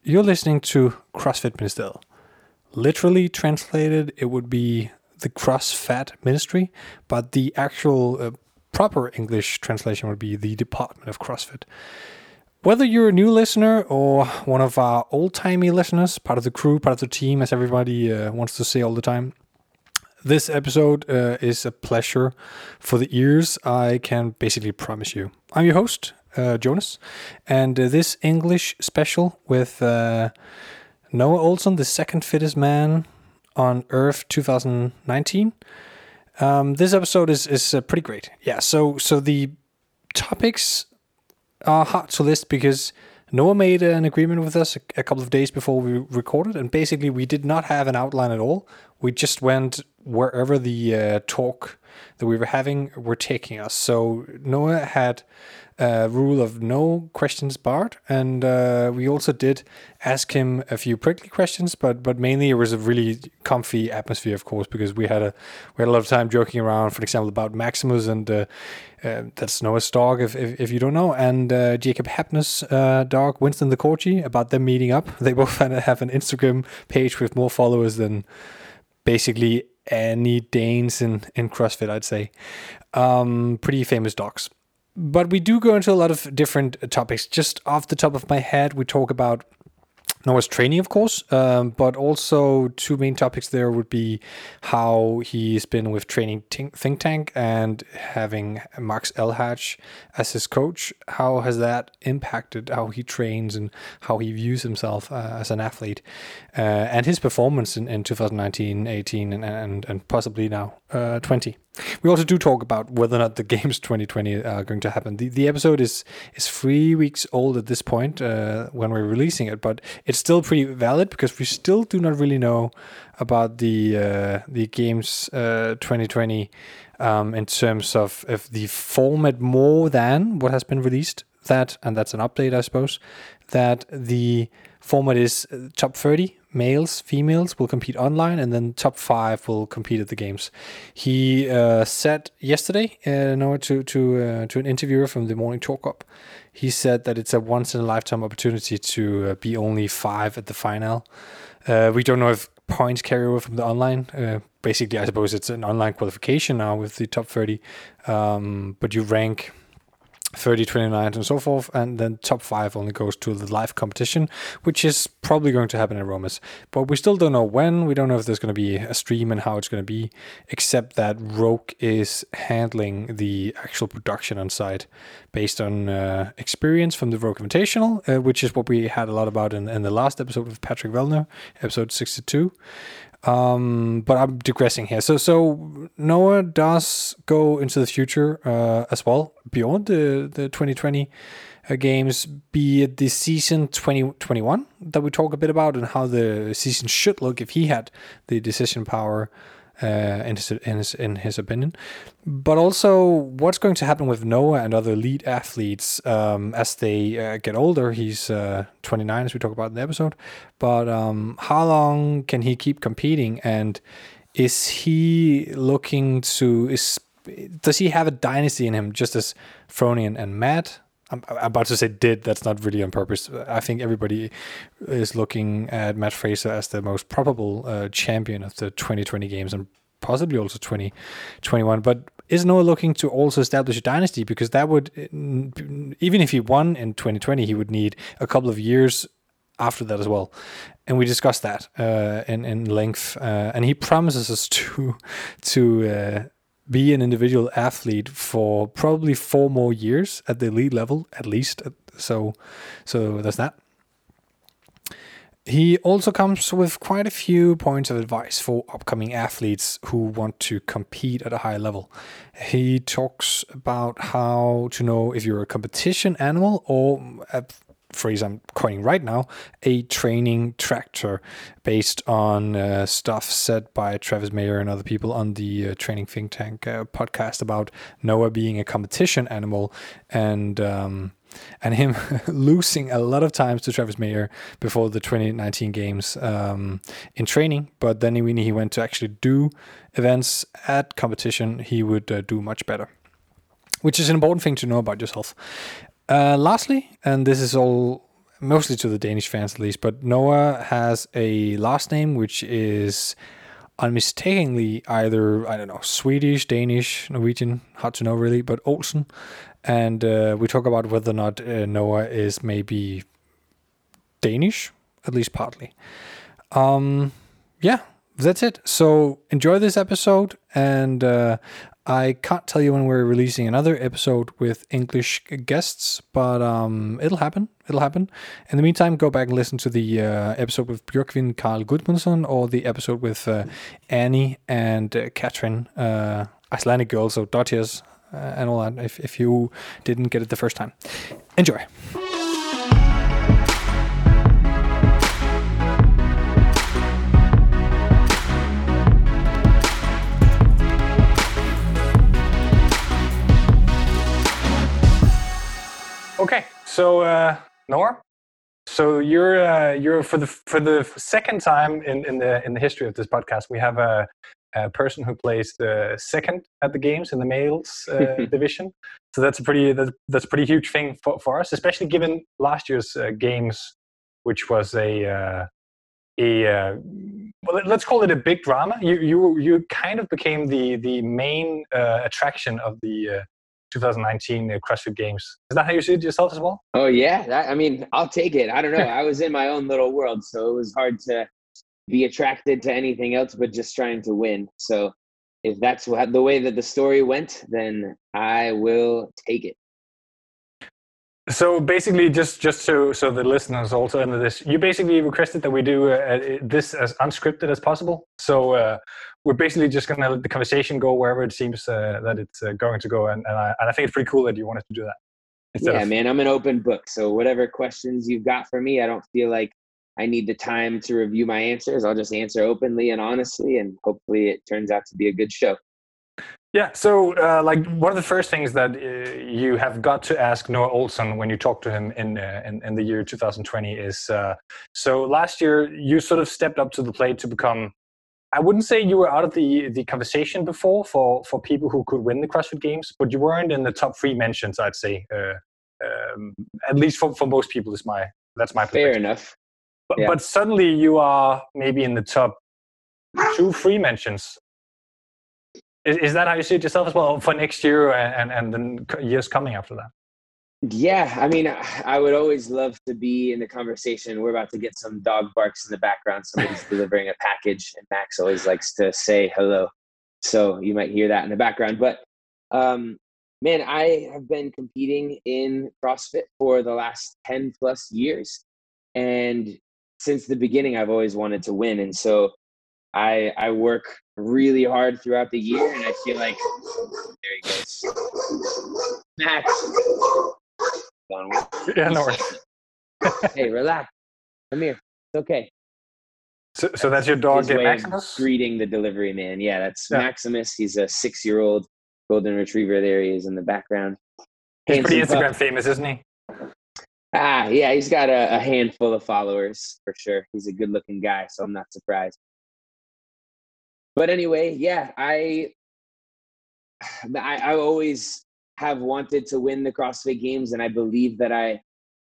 You're listening to CrossFit Ministeriet. Literally translated, it would be the CrossFit Ministry, but the actual proper English translation would be the Department of CrossFit. Whether you're a new listener or one of our old-timey listeners, part of the crew, part of the team, as everybody wants to say all the time, this episode is a pleasure for the ears, I can basically promise you. I'm your host, Jonas, and this English special with Noah Ohlsen, the second fittest man on Earth 2019. This episode is pretty great. Yeah, so the topics are hard to list because Noah made an agreement with us a couple of days before we recorded, and basically we did not have an outline at all. We just went wherever the talk that we were having were taking us. So Noah had a rule of no questions barred, and we also did ask him a few prickly questions, but mainly it was a really comfy atmosphere, of course, because we had a lot of time joking around, for example, about Maximus, and that's Noah's dog, if you don't know, and Jacob Hapner's dog, Winston the Corgi, about them meeting up. They both have an Instagram page with more followers than basically any Danes in CrossFit, I'd say. Pretty famous dogs. But we do go into a lot of different topics. Just off the top of my head, we talk about Noah's training, of course, but also two main topics there would be how he's been with training Think Tank and having Max Elhage as his coach. How has that impacted how he trains and how he views himself as an athlete, and his performance in 2019, 18, and possibly now 20. We also do talk about whether or not the games 2020 are going to happen. The episode is 3 weeks old at this point when we're releasing it, but it's still pretty valid because we still do not really know about the games 2020 in terms of the format more than what has been released. And that's an update, I suppose, that the format is top 30 males, females will compete online, and then top 5 will compete at the games. He said yesterday, to an interviewer from the Morning Talk Up, he said that it's a once in a lifetime opportunity to be only 5 at the final. We don't know if points carry over from the online. Basically, I suppose it's an online qualification now with the top 30, but you rank 30, 29, and so forth, and then top 5 only goes to the live competition, which is probably going to happen in Romas. But we still don't know when. We don't know if there's going to be a stream and how it's going to be, except that Rogue is handling the actual production on site based on experience from the Rogue Invitational, which is what we had a lot about in the last episode with Patrick Vellner, episode 62. But I'm digressing here. So Noah does go into the future as well, beyond the 2020 games, be it the season 2021 that we talk a bit about and how the season should look if he had the decision power in his opinion. But also what's going to happen with Noah and other elite athletes as they get older. He's 29, as we talk about in the episode. But how long can he keep competing? And is he looking to... Does he have a dynasty in him, just as Froni and Matt? I'm about to say did. That's not really on purpose. I think everybody is looking at Matt Fraser as the most probable champion of the 2020 games and possibly also 2021. But is Noah looking to also establish a dynasty? Because that would, even if he won in 2020, he would need a couple of years after that as well. And we discussed that in length. And he promises us to be an individual athlete for probably 4 more years at the elite level, at least. So there's that. He also comes with quite a few points of advice for upcoming athletes who want to compete at a high level. He talks about how to know if you're a competition animal or, a phrase I'm coining right now, a training tractor, based on stuff said by Travis Mayer and other people on the Training Think Tank podcast about Noah being a competition animal and him losing a lot of times to Travis Mayer before the 2019 games in training. But then when he went to actually do events at competition, he would do much better, which is an important thing to know about yourself. Lastly, and this is all mostly to the Danish fans at least, but Noah has a last name which is unmistakably either, I don't know, Swedish, Danish, Norwegian, hard to know really, but Olsen. And we talk about whether or not Noah is maybe Danish, at least partly. Yeah, that's it. So enjoy this episode, and I can't tell you when we're releasing another episode with English guests, but it'll happen. It'll happen. In the meantime, go back and listen to the episode with Björkvin Carl Gudmundsson, or the episode with Annie and Katrin, Icelandic girls, so Dodgers, and all that, if you didn't get it the first time. Enjoy. Okay, so Noah, so you're for the second time in the history of this podcast, we have a person who plays the second at the games in the males division. So that's a pretty huge thing for us, especially given last year's games, which was well, let's call it a big drama. You kind of became the main attraction of the 2019 CrossFit Games. Is that how you see it yourself as well? Oh yeah, I mean, I'll take it. I don't know. I was in my own little world, so it was hard to be attracted to anything else but just trying to win. So if that's the way that the story went, then I will take it. So basically, just so the listeners also into this, you basically requested that we do this as unscripted as possible. So we're basically just going to let the conversation go wherever it seems that it's going to go, and I think it's pretty cool that you wanted to do that. Yeah, man, I'm an open book. So whatever questions you've got for me, I don't feel like I need the time to review my answers. I'll just answer openly and honestly, and hopefully it turns out to be a good show. Yeah, so like one of the first things that you have got to ask Noah Olsen when you talk to him in the year 2020 is, so last year you sort of stepped up to the plate to become, I wouldn't say you were out of the conversation before for people who could win the CrossFit Games, but you weren't in the top 3 mentions, I'd say, at least for most people. That's my perspective. Fair enough. But suddenly you are maybe in the top 2-3 mentions. Is that how you see it yourself as well for next year and then years coming after that? Yeah, I mean, I would always love to be in the conversation. We're about to get some dog barks in the background. Somebody's delivering a package, and Max always likes to say hello. So you might hear that in the background. But man, I have been competing in CrossFit for the last 10 plus years. And since the beginning, I've always wanted to win. And so I work really hard throughout the year, and I feel like there he goes, Max. Yeah, no worries. Hey, relax. Come here. It's okay. So that's your dog, Maximus? Greeting the delivery man. Yeah, that's Maximus. He's a 6-year-old golden retriever. There he is in the background. He's pretty Instagram famous, isn't he? Yeah, he's got a handful of followers for sure. He's a good-looking guy, so I'm not surprised. But anyway, yeah, I always have wanted to win the CrossFit Games, and I believe that I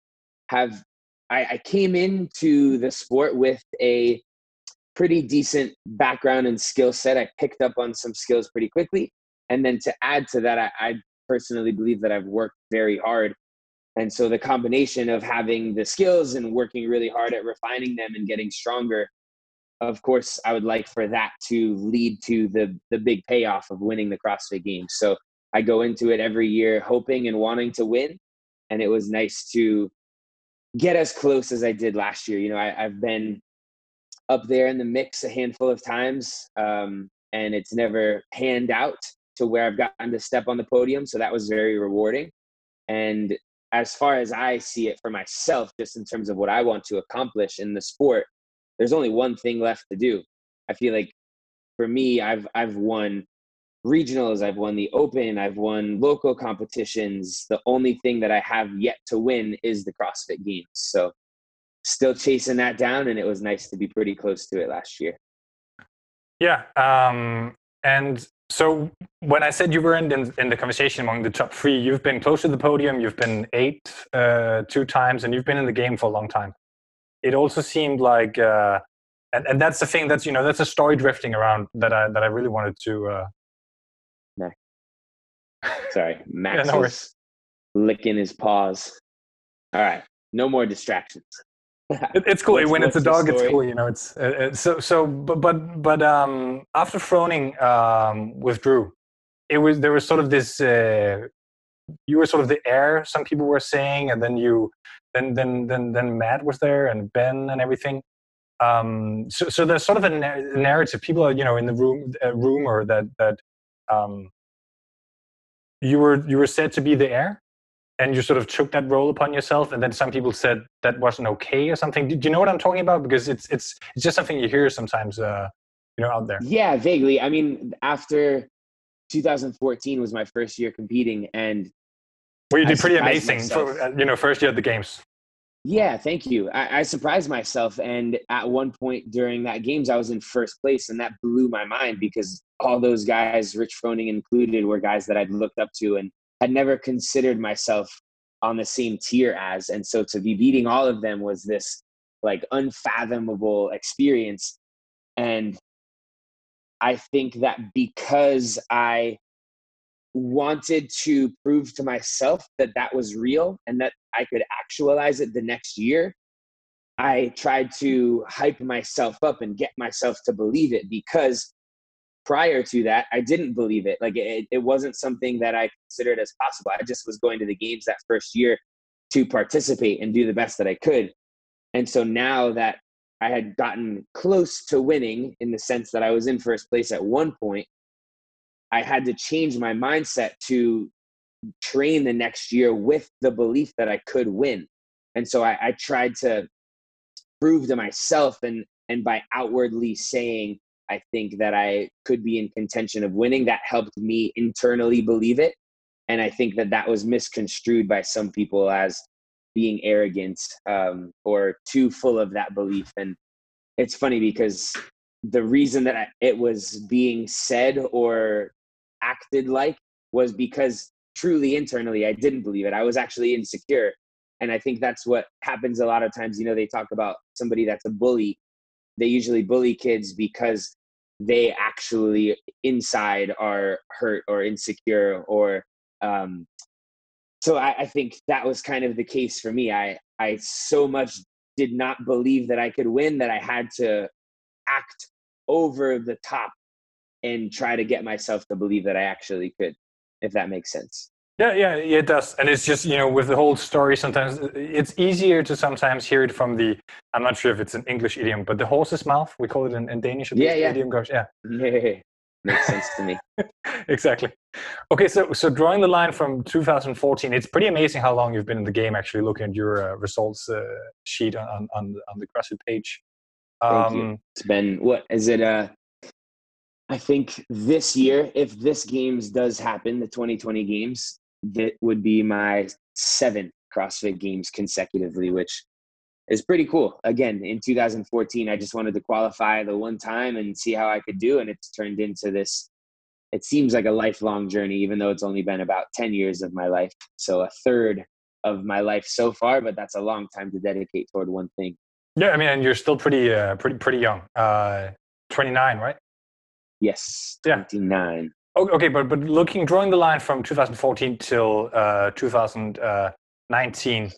came into the sport with a pretty decent background and skill set. I picked up on some skills pretty quickly. And then to add to that, I personally believe that I've worked very hard. And so the combination of having the skills and working really hard at refining them and getting stronger, of course, I would like for that to lead to the big payoff of winning the CrossFit Games. So I go into it every year hoping and wanting to win. And it was nice to get as close as I did last year. You know, I've been up there in the mix a handful of times, and it's never panned out to where I've gotten to step on the podium. So that was very rewarding. And as far as I see it for myself, just in terms of what I want to accomplish in the sport, there's only one thing left to do. I feel like for me, I've won regionals, I've won the open, I've won local competitions. The only thing that I have yet to win is the CrossFit Games. So still chasing that down, and it was nice to be pretty close to it last year. Yeah. And So when I said you were in the conversation among the top 3, you've been close to the podium. You've been 8 2 times, and you've been in the game for a long time. It also seemed like, and that's the thing. That's that's a story drifting around that I really wanted to. Sorry, Max no is licking his paws. All right, no more distractions. It's cool when it's a dog. It's cool, It's but after Froning withdrew, there was sort of this. You were sort of the heir. Some people were saying, and then Matt was there and Ben and everything. So there's sort of a narrative. People are in the rumor that you were said to be the heir. And you sort of took that role upon yourself, and then some people said that wasn't okay or something. Do you know what I'm talking about? Because it's just something you hear sometimes, out there. Yeah, vaguely. I mean, after 2014 was my first year competing, and you did pretty amazing for first year at the games. Yeah, thank you. I surprised myself, and at one point during that games, I was in first place, and that blew my mind because all those guys, Rich Froning included, were guys that I'd looked up to and had never considered myself on the same tier as. And so to be beating all of them was this like unfathomable experience. And I think that because I wanted to prove to myself that that was real and that I could actualize it the next year, I tried to hype myself up and get myself to believe it, because prior to that, I didn't believe it. Like it wasn't something that I considered as possible. I just was going to the games that first year to participate and do the best that I could. And so now that I had gotten close to winning, in the sense that I was in first place at one point, I had to change my mindset to train the next year with the belief that I could win. And so I tried to prove to myself, and by outwardly saying, I think that I could be in contention of winning, that helped me internally believe it. And I think that was misconstrued by some people as being arrogant or too full of that belief. And it's funny because the reason that it was being said or acted like was because truly internally I didn't believe it. I was actually insecure. And I think that's what happens a lot of times. They talk about somebody that's a bully. They usually bully kids because they actually inside are hurt or insecure, or so I think that was kind of the case for me. I so much did not believe that I could win that I had to act over the top and try to get myself to believe that I actually could, if that makes sense. Yeah, it does. And it's just, with the whole story, sometimes it's easier to sometimes hear it from I'm not sure if it's an English idiom, but the horse's mouth, we call it in Danish. Idiom goes, yeah. Makes sense to me. Exactly. Okay, so drawing the line from 2014, it's pretty amazing how long you've been in the game, actually, looking at your results sheet on the CrossFit page. Thank you. It's been, what is it? I think this year, if this games does happen, the 2020 games, that would be my 7th CrossFit games consecutively, which is pretty cool. Again, in 2014, I just wanted to qualify the one time and see how I could do. And it's turned into this, it seems like a lifelong journey, even though it's only been about 10 years of my life. So a third of my life so far, but that's a long time to dedicate toward one thing. Yeah, I mean, and you're still pretty young. 29, right? Yes, 29. Yeah. Okay, but drawing the line from 2014 till 2019,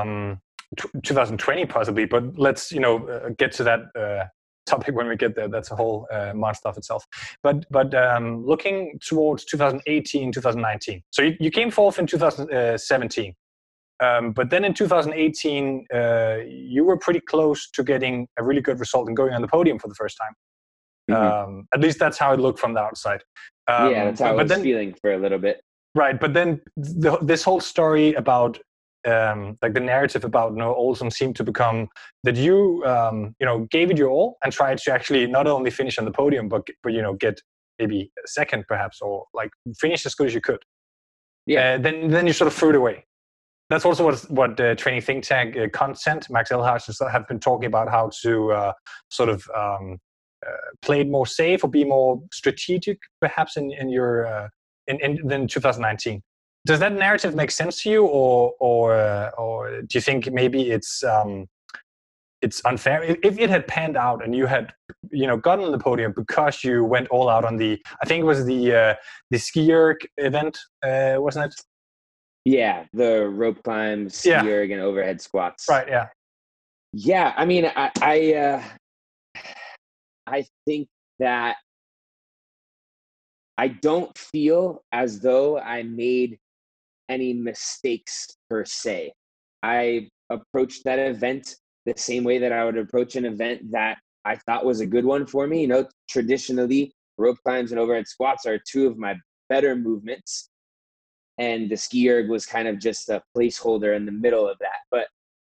2020 possibly, but let's get to that topic when we get there. That's a whole monster of itself. But looking towards 2018, 2019. So you came fourth in 2017, but then in 2018 you were pretty close to getting a really good result and going on the podium for the first time. Mm-hmm. At least that's how it looked from the outside. Yeah, that's how I was feeling for a little bit. Right, but then this whole story about like the narrative about Olsen seemed to become that you gave it your all and tried to actually not only finish on the podium but get maybe second perhaps, or like finish as good as you could. Yeah. Then you sort of threw it away. That's also what training think tank Consent, Max Elhage have been talking about, how to played more safe or be more strategic, perhaps in your in 2019. Does that narrative make sense to you, or do you think maybe it's unfair? If it had panned out and you had, gotten on the podium because you went all out on I think it was the ski erg event, wasn't it? Yeah, the rope climb, ski erg, and overhead squats. Right. Yeah. Yeah, I mean, I think that I don't feel as though I made any mistakes per se. I approached that event the same way that I would approach an event that I thought was a good one for me. Traditionally, rope climbs and overhead squats are two of my better movements. And the ski erg was kind of just a placeholder in the middle of that. But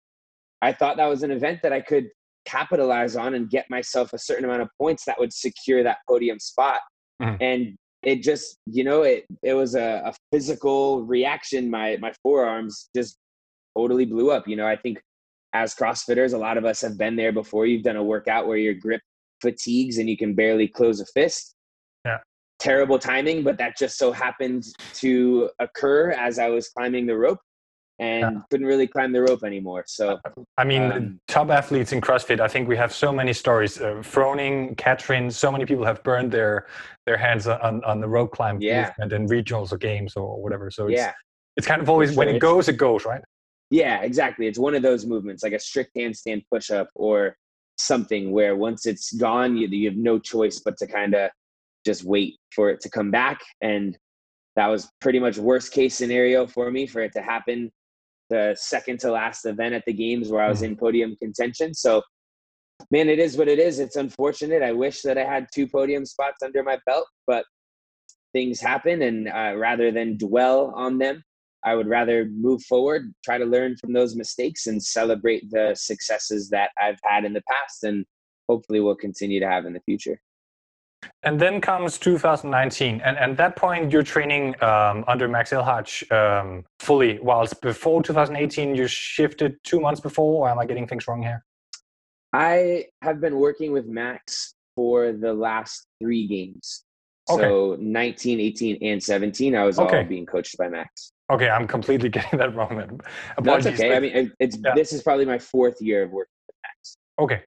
I thought that was an event that I could capitalize on and get myself a certain amount of points that would secure that podium spot. Mm-hmm. And it just, it was a physical reaction. My forearms just totally blew up. I think as CrossFitters, a lot of us have been there before. You've done a workout where your grip fatigues and you can barely close a fist. Yeah. Terrible timing, but that just so happened to occur as I was climbing the rope and couldn't really climb the rope anymore. So, I mean, top athletes in CrossFit, I think we have so many stories. Froning, Katrin, so many people have burned their hands on the rope climb movement in regionals or games or whatever. So it's kind of always, when it goes, right? Yeah, exactly. It's one of those movements, like a strict handstand push-up or something where once it's gone, you have no choice but to kind of just wait for it to come back. And that was pretty much worst case scenario for me, for it to happen the second to last event at the games where I was in podium contention. So, man, it is what it is. It's unfortunate. I wish that I had 2 podium spots under my belt, but things happen. And rather than dwell on them, I would rather move forward, try to learn from those mistakes and celebrate the successes that I've had in the past and hopefully will continue to have in the future. And then comes 2019, and at that point you're training under Max Elhage fully, whilst before 2018 you shifted 2 months before, or am I getting things wrong here? I have been working with Max for the last 3 games. So 19, 18, and 17, I was all being coached by Max. Okay, I'm completely getting that wrong then. Apologies. That's okay. I mean, this is probably my 4th year of working with Max. Okay.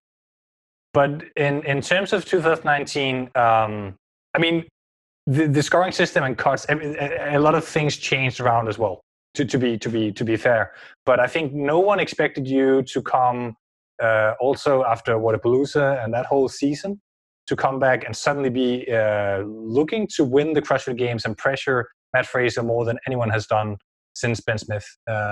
But in terms of 2019, I mean, the scoring system and cuts, a lot of things changed around as well. To be fair, but I think no one expected you to come also after Wodapalooza and that whole season to come back and suddenly be looking to win the CrossFit Games and pressure Matt Fraser more than anyone has done since Ben Smith.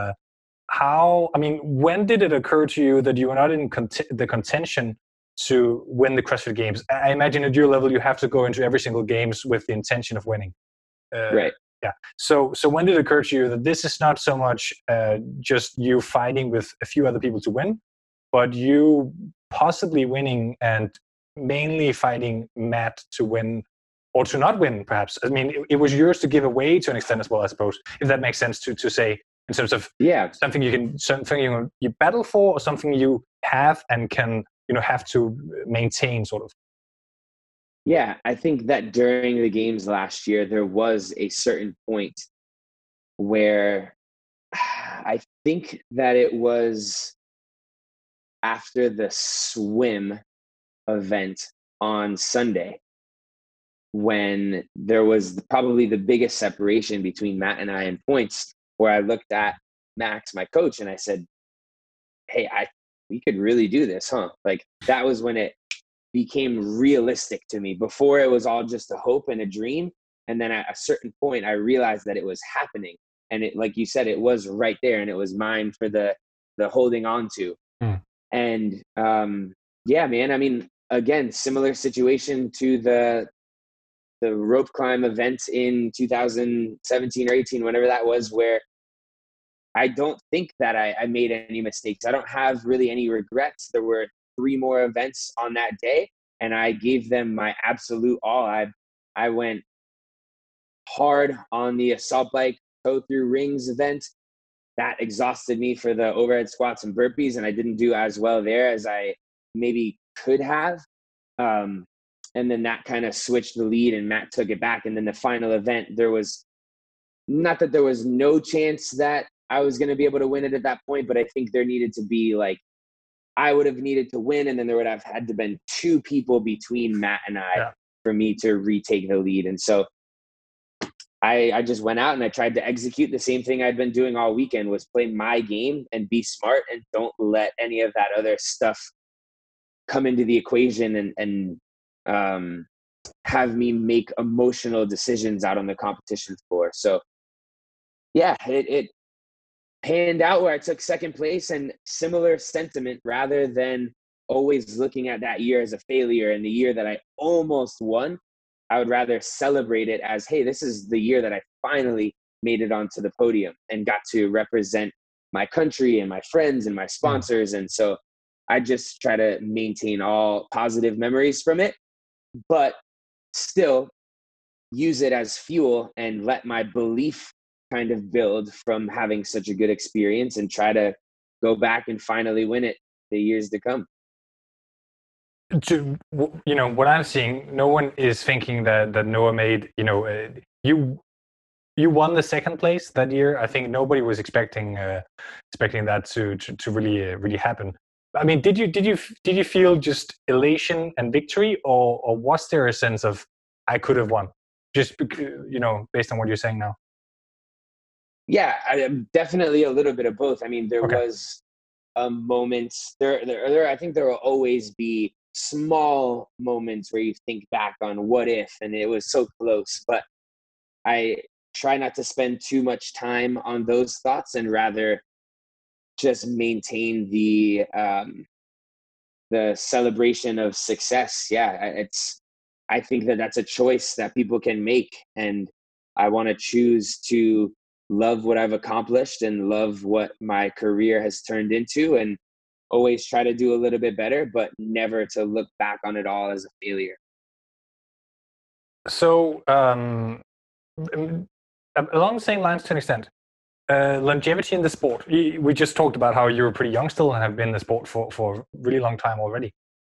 When did it occur to you that you were not in the contention to win the CrossFit Games? I imagine at your level, you have to go into every single games with the intention of winning. Right. Yeah. So when did it occur to you that this is not so much just you fighting with a few other people to win, but you possibly winning and mainly fighting Matt to win or to not win, perhaps? I mean, it was yours to give away to an extent as well, I suppose, if that makes sense to say in terms of something you battle for or something you have and can have to maintain, sort of. Yeah, I think that during the games last year, there was a certain point where I think that it was after the swim event on Sunday when there was probably the biggest separation between Matt and I in points, where I looked at Max, my coach, and I said, hey, we could really do this, huh? Like, that was when it became realistic to me. Before, it was all just a hope and a dream. And then at a certain point, I realized that it was happening. And it, like you said, it was right there and it was mine for the holding on to. And yeah, man, I mean, again, similar situation to the rope climb event in 2017 or 18, whenever that was, where I don't think that I made any mistakes. I don't have really any regrets. There were 3 more events on that day, and I gave them my absolute all. I went hard on the assault bike toe through rings event. That exhausted me for the overhead squats and burpees, and I didn't do as well there as I maybe could have. and then that kind of switched the lead and Matt took it back. And then the final event, there was not that there was no chance that I was going to be able to win it at that point, but I think there needed to be like, I would have needed to win, and then there would have had to been two people between Matt and I for me to retake the lead. And so I just went out and I tried to execute the same thing I'd been doing all weekend, was play my game and be smart and don't let any of that other stuff come into the equation and have me make emotional decisions out on the competition floor. So yeah, it panned out where I took second place, and similar sentiment, rather than always looking at that year as a failure and the year that I almost won, I would rather celebrate it as, hey, this is the year that I finally made it onto the podium and got to represent my country and my friends and my sponsors. And so I just try to maintain all positive memories from it, but still use it as fuel and let my belief kind of build from having such a good experience, and try to go back and finally win it the years to come. What I'm seeing, no one is thinking that Noah made, you won the second place that year. I think nobody was expecting that to really happen. I mean, did you feel just elation and victory, or was there a sense of I could have won, just based on what you're saying now? Yeah, definitely a little bit of both. I mean, there was moments there. I think there will always be small moments where you think back on what if, and it was so close. But I try not to spend too much time on those thoughts, and rather just maintain the celebration of success. Yeah, I think that's a choice that people can make, and I want to choose to love what I've accomplished and love what my career has turned into, and always try to do a little bit better, but never to look back on it all as a failure. So along the same lines to an extent, longevity in the sport. We just talked about how you're pretty young still and have been in the sport for a really long time already.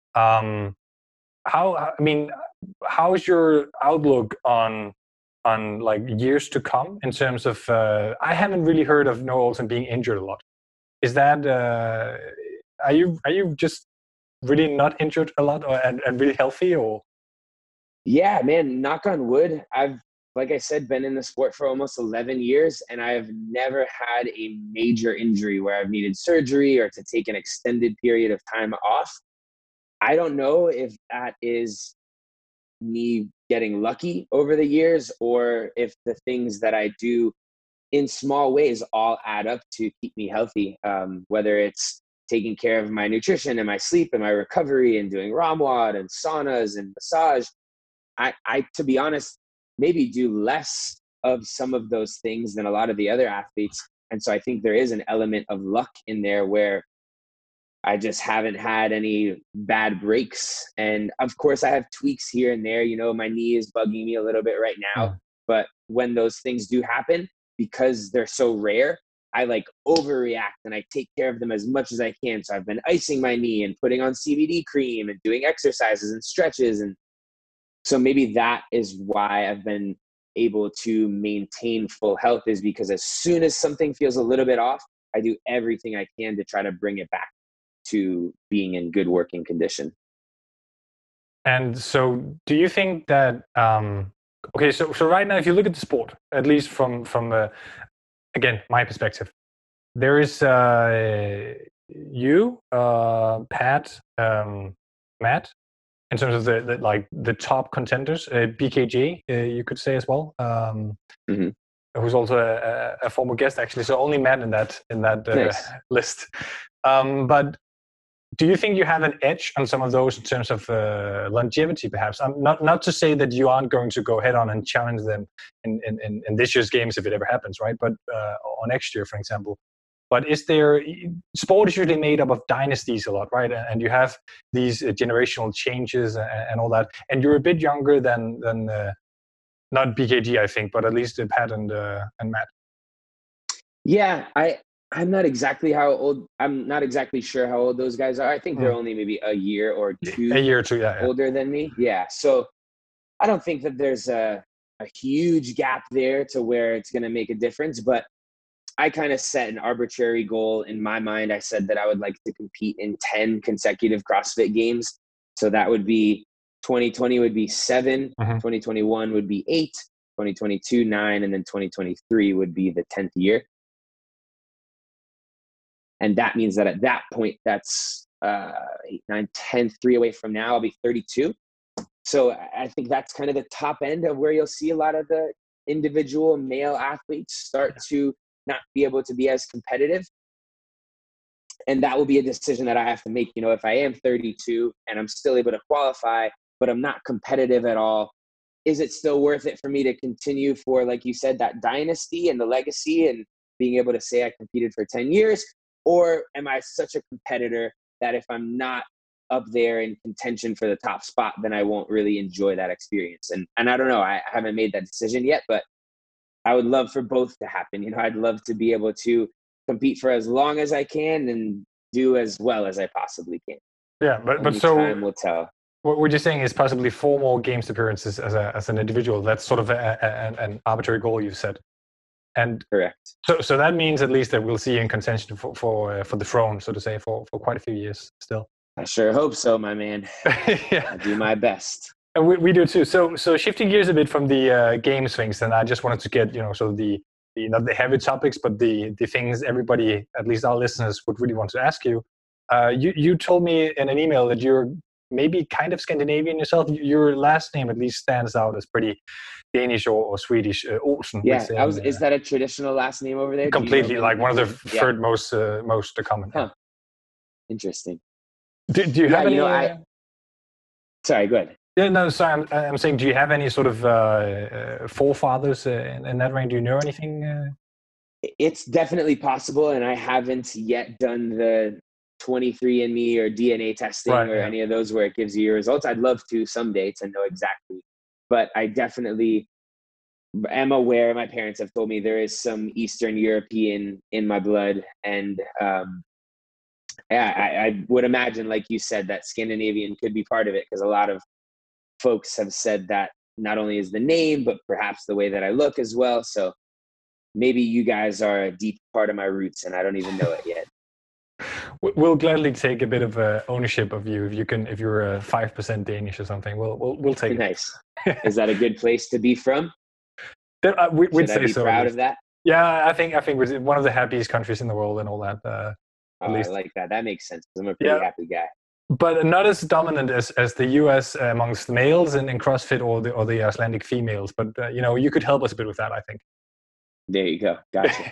How's your outlook on like years to come in terms of? I haven't really heard of Noah Ohlsen being injured a lot. Is that are you just really not injured a lot, and really healthy, or? Yeah, man, knock on wood. I've, like I said, been in the sport for almost 11 years, and I've never had a major injury where I've needed surgery or to take an extended period of time off. I don't know if that is me getting lucky over the years, or if the things that I do in small ways all add up to keep me healthy. Whether it's taking care of my nutrition and my sleep and my recovery and doing ROMWOD and saunas and massage. I, to be honest, maybe do less of some of those things than a lot of the other athletes. And so I think there is an element of luck in there where I just haven't had any bad breaks. And of course I have tweaks here and there, my knee is bugging me a little bit right now, but when those things do happen, because they're so rare, I like overreact and I take care of them as much as I can. So I've been icing my knee and putting on CBD cream and doing exercises and stretches. And so maybe that is why I've been able to maintain full health, is because as soon as something feels a little bit off, I do everything I can to try to bring it back to being in good working condition. And so do you think that, okay, so right now, if you look at the sport, at least from again, my perspective, there is you, Pat, Matt, in terms of the top contenders, BKJ, you could say as well, who's also a former guest actually. So only Matt in that nice. List. But do you think you have an edge on some of those in terms of longevity, perhaps? Not to say that you aren't going to go head on and challenge them in this year's games if it ever happens, right? But or next year, for example. But is there, sport is usually made up of dynasties a lot, right? And you have these generational changes and all that. And you're a bit younger than not BKG, I think, but at least Pat and Matt. Yeah, I'm not exactly sure how old those guys are. I think they're only maybe a year or two older than me. Yeah. So I don't think that there's a huge gap there to where it's going to make a difference, but I kind of set an arbitrary goal in my mind. I said that I would like to compete in 10 consecutive CrossFit games. So that would be 2020 would be 7, 2021 would be 8, 2022, 9, and then 2023 would be the 10th year. And that means that at that point, that's 8, 9, 10, 3 away from now, I'll be 32. So I think that's kind of the top end of where you'll see a lot of the individual male athletes start to not be able to be as competitive. And that will be a decision that I have to make. You know, if I am 32 and I'm still able to qualify, but I'm not competitive at all, is it still worth it for me to continue for, like you said, that dynasty and the legacy and being able to say I competed for 10 years? Or am I such a competitor that if I'm not up there in contention for the top spot, then I won't really enjoy that experience? And I don't know, I haven't made that decision yet, but I would love for both to happen. You know, I'd love to be able to compete for as long as I can and do as well as I possibly can. Yeah, but so time will tell. What you're saying is possibly 4 more games appearances as an individual. That's sort of an arbitrary goal you've set. And correct. So that means at least that we'll see you in contention for the throne, so to say, for quite a few years still. I sure hope so, my man. Yeah. I'll do my best. And we do too. So shifting gears a bit from the games things, and I just wanted to get, sort of the not the heavy topics, but the things everybody, at least our listeners, would really want to ask you. You told me in an email that you're maybe kind of Scandinavian yourself. Your last name at least stands out as pretty Danish or Swedish. Olsen. Yeah, is that a traditional last name over there? Completely, like one of the third most common. Huh. Interesting. Do you have any? Sorry, go ahead. Yeah, no, sorry. I'm saying, do you have any sort of forefathers in that range? Do you know anything? It's definitely possible, and I haven't yet done the 23andMe or DNA testing any of those where it gives you your results. I'd love to someday to know exactly, but I definitely am aware. My parents have told me there is some Eastern European in my blood, and I would imagine, like you said, that Scandinavian could be part of it, because a lot of folks have said that not only is the name, but perhaps the way that I look as well. So maybe you guys are a deep part of my roots and I don't even know it yet. We'll gladly take a bit of ownership of you if you're 5% Danish or something. We'll take it. Nice. Is that a good place to be from? We'd say I be so. Proud of that? Yeah, I think we're one of the happiest countries in the world and all that. At least. I like that. That makes sense. I'm a pretty happy guy. But not as dominant as the US amongst males in CrossFit or the Icelandic females. But you could help us a bit with that, I think. There you go. Gotcha.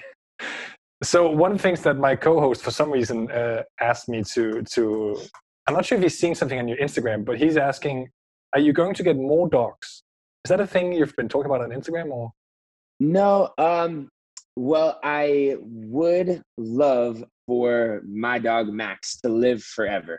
So one of the things that my co-host, for some reason, asked me to I'm not sure if he's seen something on your Instagram, but he's asking, are you going to get more dogs? Is that a thing you've been talking about on Instagram, or? No. Well, I would love for my dog Max to live forever.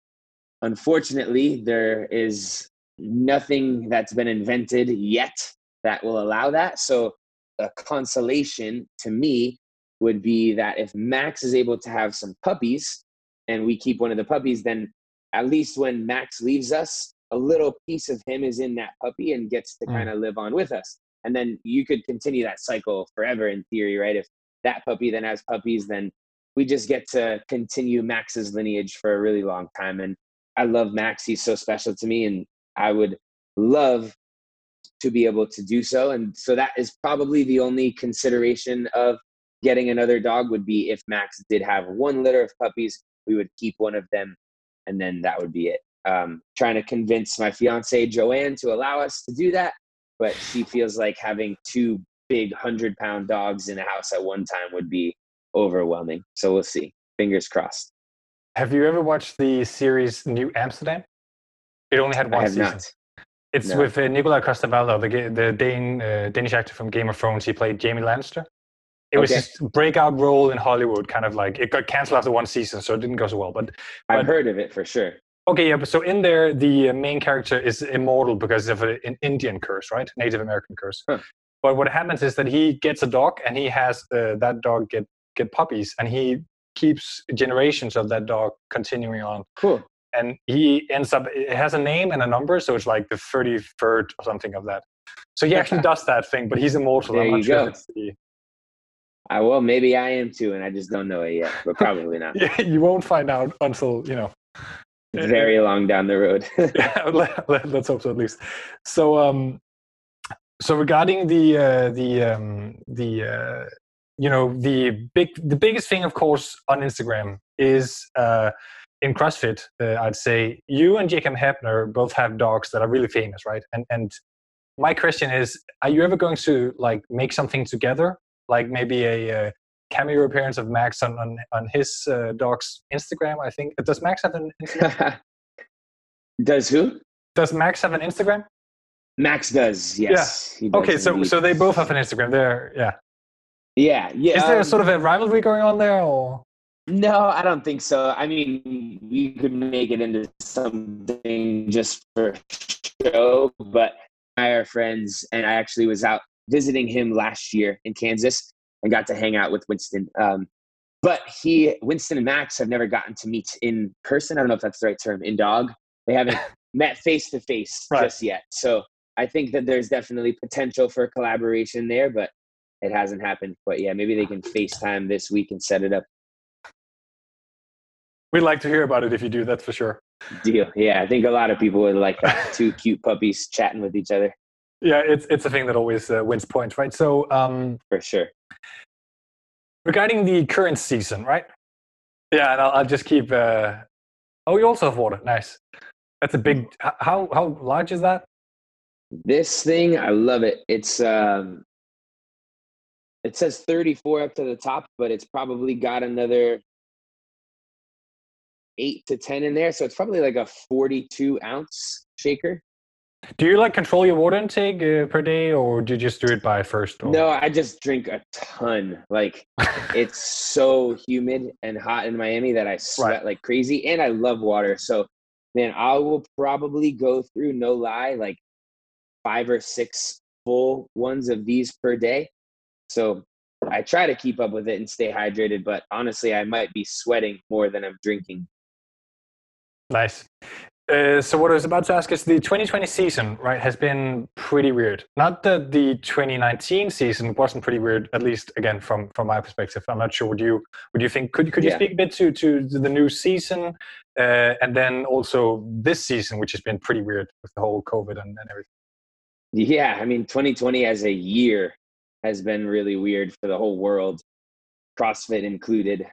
Unfortunately, there is nothing that's been invented yet that will allow that. So a consolation to me would be that if Max is able to have some puppies and we keep one of the puppies, then at least when Max leaves us, a little piece of him is in that puppy and gets to kind of live on with us. And then you could continue that cycle forever in theory, right? If that puppy then has puppies, then we just get to continue Max's lineage for a really long time. And I love Max. He's so special to me, and I would love to be able to do so. And so that is probably the only consideration of getting another dog, would be if Max did have one litter of puppies, we would keep one of them, and then that would be it. Trying to convince my fiance Joanne to allow us to do that, but she feels like having 2 big 100-pound dogs in a house at one time would be overwhelming. So we'll see. Fingers crossed. Have you ever watched the series New Amsterdam? It only had one season. Not. It's with Nikolaj Coster-Waldau, the Danish actor from Game of Thrones. He played Jaime Lannister. It was his breakout role in Hollywood, kind of like, it got canceled after one season, so it didn't go so well. But I've heard of it for sure. Okay, yeah, but so in there, the main character is immortal because of an Indian curse, right? Native American curse. Huh. But what happens is that he gets a dog, and he has that dog get get puppies, and he keeps generations of that dog continuing on. Cool. And he ends up, it has a name and a number, so it's like the 33rd or something of that. So he actually does that thing, but he's immortal. There I'm not you sure go. if it's the... Well, maybe I am too, and I just don't know it yet, but probably not. Yeah, you won't find out until, you know. It's very long down the road. Yeah, let's hope so at least. So, so regarding the you know, the biggest thing, of course, on Instagram is in CrossFit. I'd say you and Jacob Hebner both have dogs that are really famous, right? And my question is, are you ever going to like make something together, like maybe a cameo appearance of Max on his dog's Instagram? I think, does Max have an Instagram? Does who? Does Max have an Instagram? Max does, yes. Yeah. He does okay, indeed. so they both have an Instagram. There, yeah. Yeah. Is there sort of a rivalry going on there, or? No, I don't think so. I mean, we could make it into something just for show, but I are friends, and I actually was out visiting him last year in Kansas and got to hang out with Winston. But Winston and Max have never gotten to meet in person. I don't know if that's the right term, in dog. They haven't met face to face just yet. So I think that there's definitely potential for collaboration there, but it hasn't happened. But yeah, maybe they can FaceTime this week and set it up. We'd like to hear about it if you do, that's for sure. Deal. Yeah, I think a lot of people would like that. Two cute puppies chatting with each other. Yeah, it's a thing that always wins points, right? So for sure. Regarding the current season, right? Yeah, and I'll just keep. Oh, you also have water. Nice. That's a big. How large is that? This thing, I love it. It's it says 34 up to the top, but it's probably got another 8 to 10 in there, so it's probably like a 42-ounce shaker. Do you like control your water intake per day, or do you just do it by first? Or? No, I just drink a ton. Like it's so humid and hot in Miami that I sweat like crazy, and I love water. So, man, I will probably go through, no lie, like 5 or 6 full ones of these per day. So I try to keep up with it and stay hydrated, but honestly, I might be sweating more than I'm drinking. Nice. So what I was about to ask is the 2020 season, right, has been pretty weird. Not that the 2019 season wasn't pretty weird, at least again from my perspective. I'm not sure. Would you think? Could you speak a bit to the new season, and then also this season, which has been pretty weird with the whole COVID and everything. Yeah, I mean, 2020 as a year has been really weird for the whole world, CrossFit included.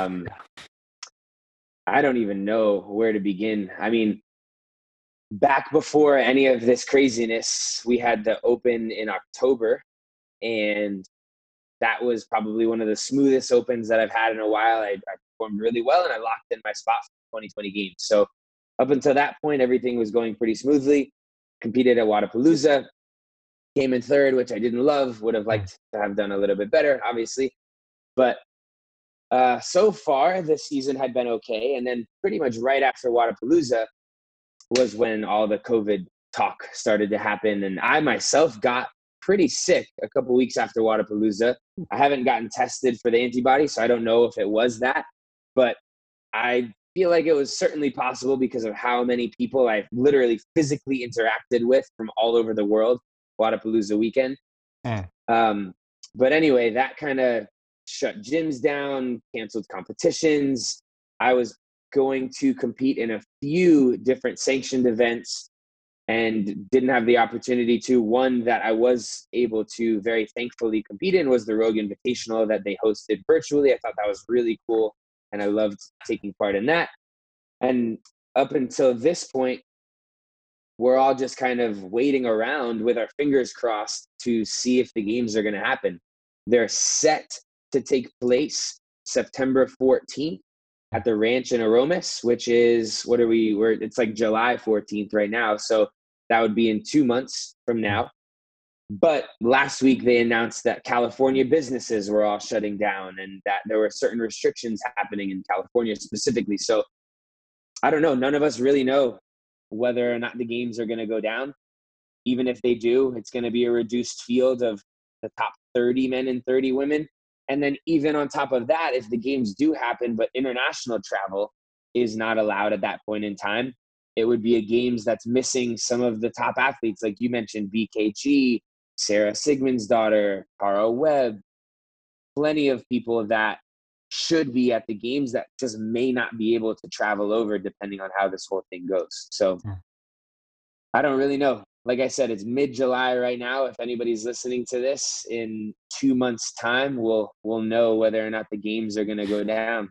I don't even know where to begin. I mean, back before any of this craziness, we had the Open in October, and that was probably one of the smoothest Opens that I've had in a while. I performed really well, and I locked in my spot for the 2020 games. So up until that point, everything was going pretty smoothly. Competed at Wodapalooza, came in third, which I didn't love. Would have liked to have done a little bit better, obviously. But so far, this season had been okay. And then pretty much right after Wodapalooza was when all the COVID talk started to happen. And I myself got pretty sick a couple weeks after Wodapalooza. I haven't gotten tested for the antibodies, so I don't know if it was that. But I feel like it was certainly possible because of how many people I literally physically interacted with from all over the world Wodapalooza weekend. But anyway, that kind of shut gyms down, canceled competitions. I was going to compete in a few different sanctioned events and didn't have the opportunity to. One that I was able to very thankfully compete in was the Rogue Invitational that they hosted virtually. I thought that was really cool, and I loved taking part in that. And up until this point, we're all just kind of waiting around with our fingers crossed to see if the games are going to happen. They're set to take place September 14th at the ranch in Aromas, which is, it's like July 14th right now. So that would be in 2 months from now. But last week they announced that California businesses were all shutting down and that there were certain restrictions happening in California specifically. So I don't know. None of us really know whether or not the games are going to go down. Even if they do, it's going to be a reduced field of the top 30 men and 30 women. And then even on top of that, if the games do happen, but international travel is not allowed at that point in time, it would be a games that's missing some of the top athletes. Like you mentioned, BKG, Sarah Sigmundsdottir, Cara Webb, plenty of people that should be at the games that just may not be able to travel over depending on how this whole thing goes. So I don't really know. Like I said, it's mid-July right now. If anybody's listening to this in 2 months' time, we'll know whether or not the games are going to go down.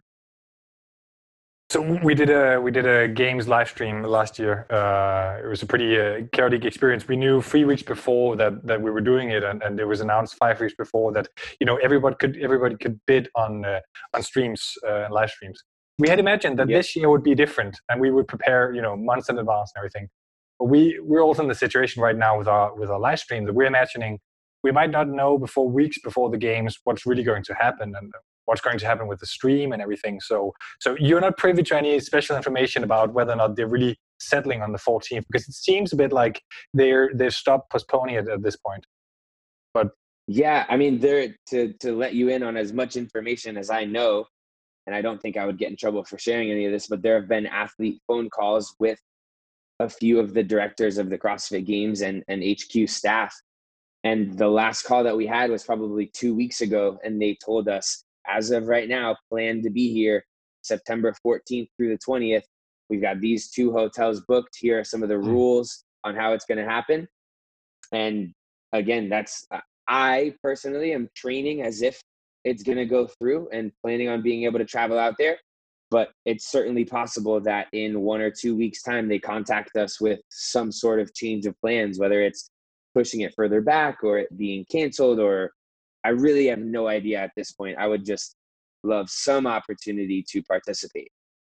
So we did a games live stream last year. It was a pretty chaotic experience. We knew 3 weeks before that we were doing it, and it was announced 5 weeks before that everybody could bid on streams, live streams. We had imagined that this year would be different, and we would prepare months in advance and everything. But we're also in the situation right now with our live stream that we're imagining we might not know weeks before the games what's really going to happen and what's going to happen with the stream and everything. So you're not privy to any special information about whether or not they're really settling on the 14th, because it seems a bit like they've stopped postponing it at this point. But yeah, I mean, to let you in on as much information as I know, and I don't think I would get in trouble for sharing any of this, but there have been athlete phone calls with a few of the directors of the CrossFit Games and HQ staff. And the last call that we had was probably 2 weeks ago, and they told us, as of right now, plan to be here September 14th through the 20th. We've got these 2 hotels booked. Here are some of the rules on how it's going to happen. And again, I personally am training as if it's going to go through and planning on being able to travel out there. But it's certainly possible that in 1 or 2 weeks' time, they contact us with some sort of change of plans, whether it's pushing it further back or it being canceled, or I really have no idea at this point. I would just love some opportunity to participate.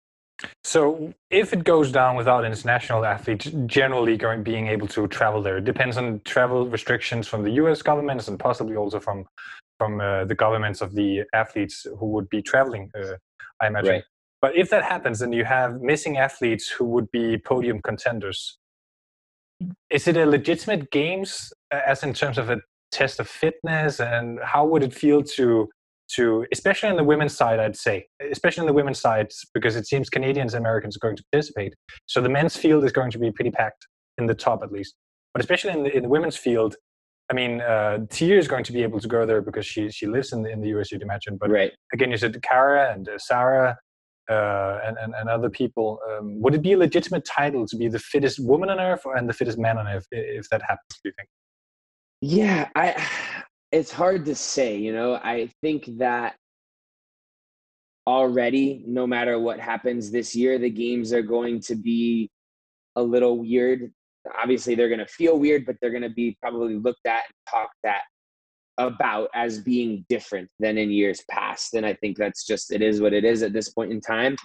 So if it goes down without international athletes generally being able to travel there, it depends on travel restrictions from the US governments and possibly also from the governments of the athletes who would be traveling, I imagine. Right. But if that happens, then you have missing athletes who would be podium contenders. Is it a legitimate games as in terms of a test of fitness, and how would it feel to especially on the women's side, I'd say, especially on the women's side, because it seems Canadians and Americans are going to participate. So the men's field is going to be pretty packed in the top at least, but especially in the women's field, I mean, Tia is going to be able to go there because she lives in the US, you'd imagine. But right. Again, you said Cara and Sarah and other people. Would it be a legitimate title to be the fittest woman on earth and the fittest man on earth if that happens, do you think? Yeah, it's hard to say, I think that already, no matter what happens this year, the games are going to be a little weird. Obviously, they're going to feel weird, but they're going to be probably looked at and talked about as being different than in years past. And I think that's just, it is what it is at this point in time.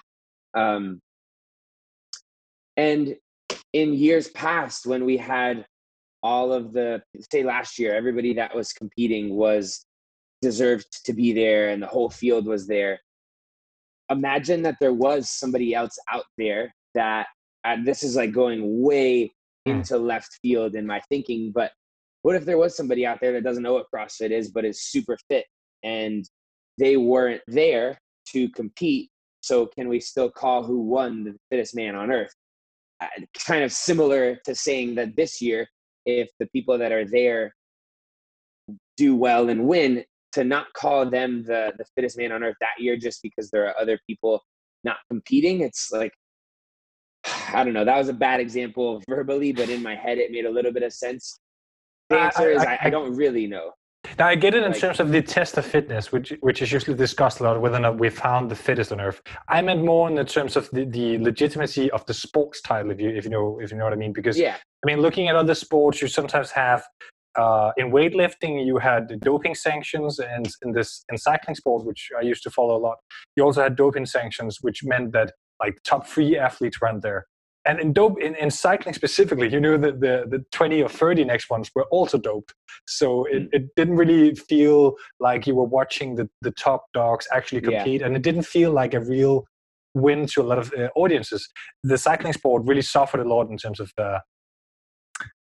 And in years past, when we had all of say last year, everybody that was competing deserved to be there and the whole field was there. Imagine that there was somebody else out there that, this is like going way into left field in my thinking, but what if there was somebody out there that doesn't know what CrossFit is, but is super fit and they weren't there to compete? So can we still call who won the fittest man on earth? Kind of similar to saying that this year, if the people that are there do well and win, to not call them the fittest man on earth that year just because there are other people not competing. It's like, I don't know. That was a bad example verbally, but in my head, it made a little bit of sense. The answer is I don't really know. Now, I get it in terms of the test of fitness, which is usually discussed a lot, whether or not we found the fittest on earth. I meant more in the terms of the legitimacy of the sports title, if you know what I mean. Because I mean, looking at other sports, you sometimes have in weightlifting, you had doping sanctions, and in cycling sport, which I used to follow a lot, you also had doping sanctions, which meant that like top 3 athletes went there. And in cycling specifically, that the 20 or 30 next ones were also doped. So it didn't really feel like you were watching the top dogs actually compete. And it didn't feel like a real win to a lot of audiences. The cycling sport really suffered a lot in terms of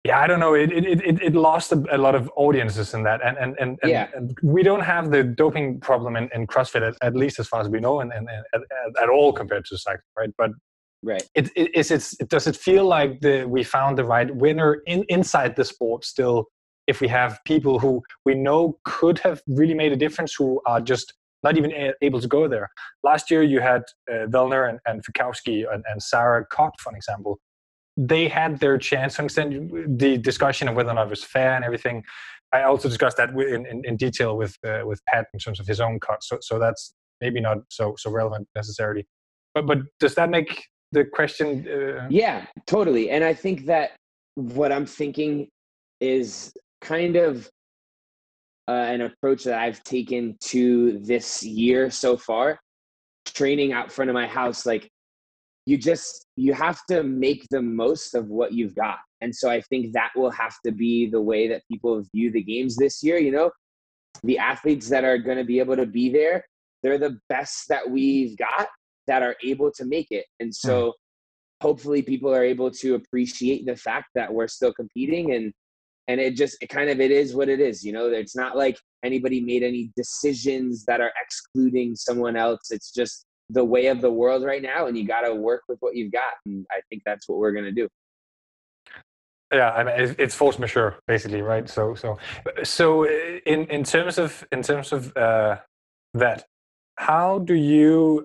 Yeah, I don't know. It lost a lot of audiences in that, and we don't have the doping problem in CrossFit at least as far as we know, and at all compared to cycling, right? But right, does it feel like we found the right winner inside the sport still? If we have people who we know could have really made a difference, who are just not even able to go there. Last year you had Vellner and Fikowski and Sarah Cox, for example. They had their chance to extend the discussion of whether or not it was fair and everything. I also discussed that in detail with Pat in terms of his own cut. So that's maybe not so relevant necessarily. But does that make the question? Yeah, totally. And I think that what I'm thinking is kind of an approach that I've taken to this year so far, training out front of my house. Like, you have to make the most of what you've got. And so I think that will have to be the way that people view the games this year. The athletes that are going to be able to be there, they're the best that we've got that are able to make it. And so hopefully people are able to appreciate the fact that we're still competing, and it is what it is. It's not like anybody made any decisions that are excluding someone else. It's just the way of the world right now, and you got to work with what you've got. And I think that's what we're going to do. Yeah, I mean, it's force majeure basically, right? So in terms of that, how do you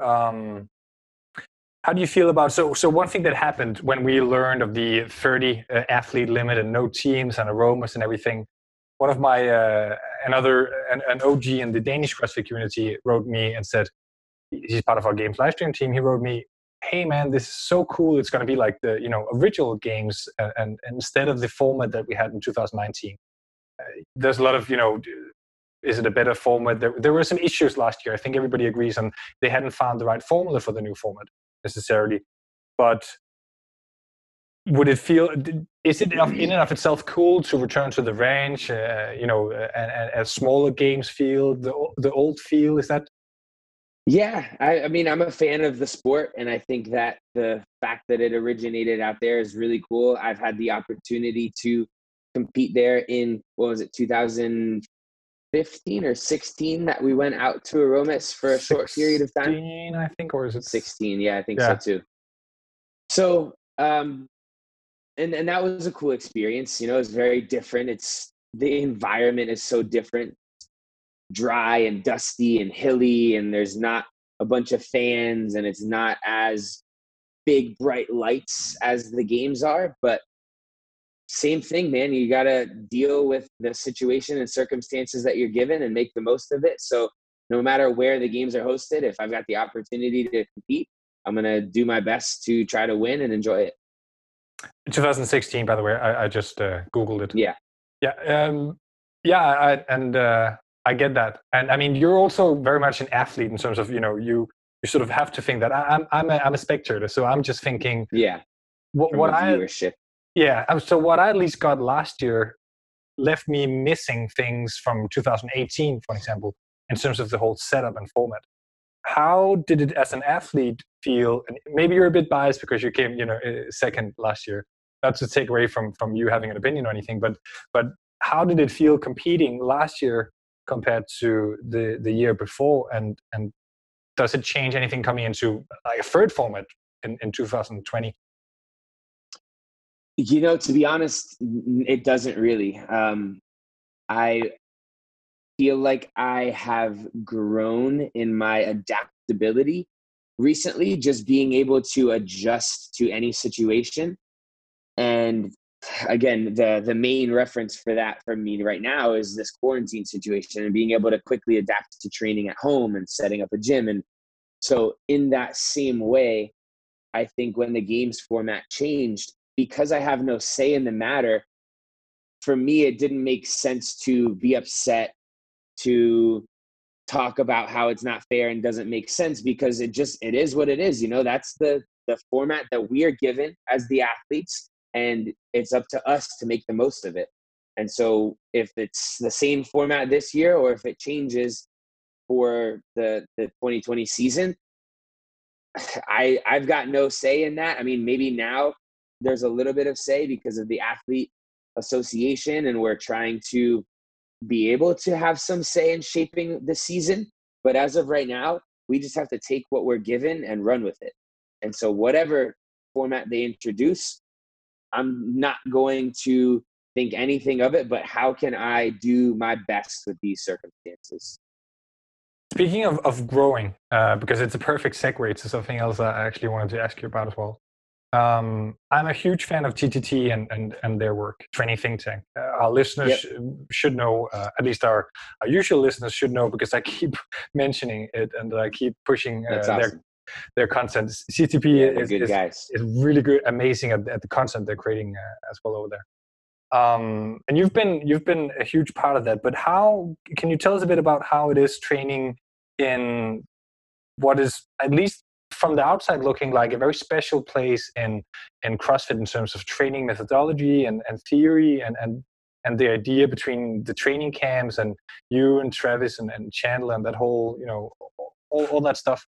feel about so one thing that happened when we learned of the 30 athlete limit and no teams and aromas and everything? One of my an OG in the Danish CrossFit community wrote me and said, he's part of our games live stream team. He wrote me, "Hey man, this is so cool. It's going to be like the original games, and instead of the format that we had in 2019. There's a lot of is it a better format? There were some issues last year. I think everybody agrees, and they hadn't found the right formula for the new format necessarily. But would it feel? Is it in and of itself cool to return to the range? And a smaller games feel, the old feel? Is that? Yeah, I mean, I'm a fan of the sport, and I think that the fact that it originated out there is really cool. I've had the opportunity to compete there in, 2015 or 16 that we went out to Aromas for a short period of time. 16, I think, or is it 16? Yeah, I think so too. So, and that was a cool experience. It's very different. The environment is so different. Dry and dusty and hilly, and there's not a bunch of fans, and it's not as big bright lights as the games are, but same thing, man. You got to deal with the situation and circumstances that you're given and make the most of it. So no matter where the games are hosted, if I've got the opportunity to compete, I'm going to do my best to try to win and enjoy it. 2016, by the way, I just Googled it. Yeah. I get that, and I mean, you're also very much an athlete in terms of you sort of have to think that I'm a spectator, so I'm just thinking. Yeah. What viewership. So what I at least got last year left me missing things from 2018, for example, in terms of the whole setup and format. How did it, as an athlete, feel? And maybe you're a bit biased because you came, second last year. Not to take away from you having an opinion or anything, but how did it feel competing last year compared to the year before, and does it change anything coming into like a third format in 2020? To be honest, it doesn't really. I feel like I have grown in my adaptability recently, just being able to adjust to any situation. And again, the main reference for that for me right now is this quarantine situation and being able to quickly adapt to training at home and setting up a gym. And so in that same way, I think when the games format changed, because I have no say in the matter, for me, it didn't make sense to be upset, to talk about how it's not fair and doesn't make sense, because it is what it is. That's the format that we are given as the athletes, and it's up to us to make the most of it. And so if it's the same format this year, or if it changes for the 2020 season, I've got no say in that. I mean, maybe now there's a little bit of say because of the athlete association, and we're trying to be able to have some say in shaping the season. But as of right now, we just have to take what we're given and run with it. And so whatever format they introduce, I'm not going to think anything of it, but how can I do my best with these circumstances? Speaking of growing, because it's a perfect segue to something else I actually wanted to ask you about as well. I'm a huge fan of TTT and their work, Training Think Tank. Our listeners should know, at least our usual listeners should know, because I keep mentioning it and I keep pushing awesome. their content. CTP is really good, amazing at the content they're creating as well over there. And you've been a huge part of that. But how can you tell us a bit about how it is training in what is, at least from the outside, looking like a very special place in CrossFit in terms of training methodology and theory and the idea between the training camps and you and Travis and Chandler and that whole, all that stuff.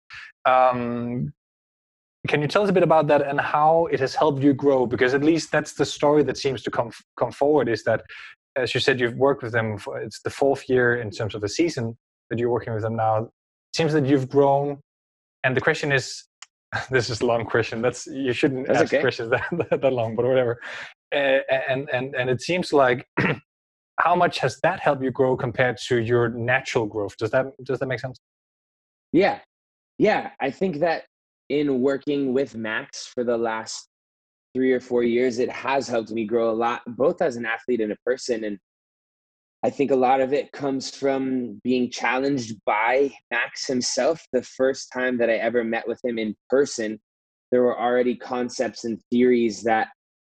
Can you tell us a bit about that and how it has helped you grow? Because at least that's the story that seems to come forward, is that, as you said, you've worked with them it's the 4th year in terms of the season that you're working with them now. It seems that you've grown. And the question is, this is a long question. You shouldn't ask questions that long, but whatever. And it seems like, how much has that helped you grow compared to your natural growth? Does that make sense? Yeah. I think that in working with Max for the last 3 or 4 years, it has helped me grow a lot, both as an athlete and a person. And I think a lot of it comes from being challenged by Max himself. The first time that I ever met with him in person, there were already concepts and theories that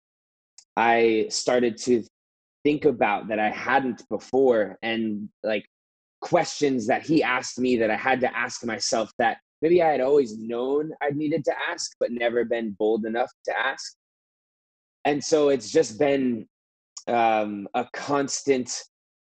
I started to think about that I hadn't before, and like questions that he asked me that I had to ask myself that maybe I had always known I needed to ask, but never been bold enough to ask. And so it's just been a constant,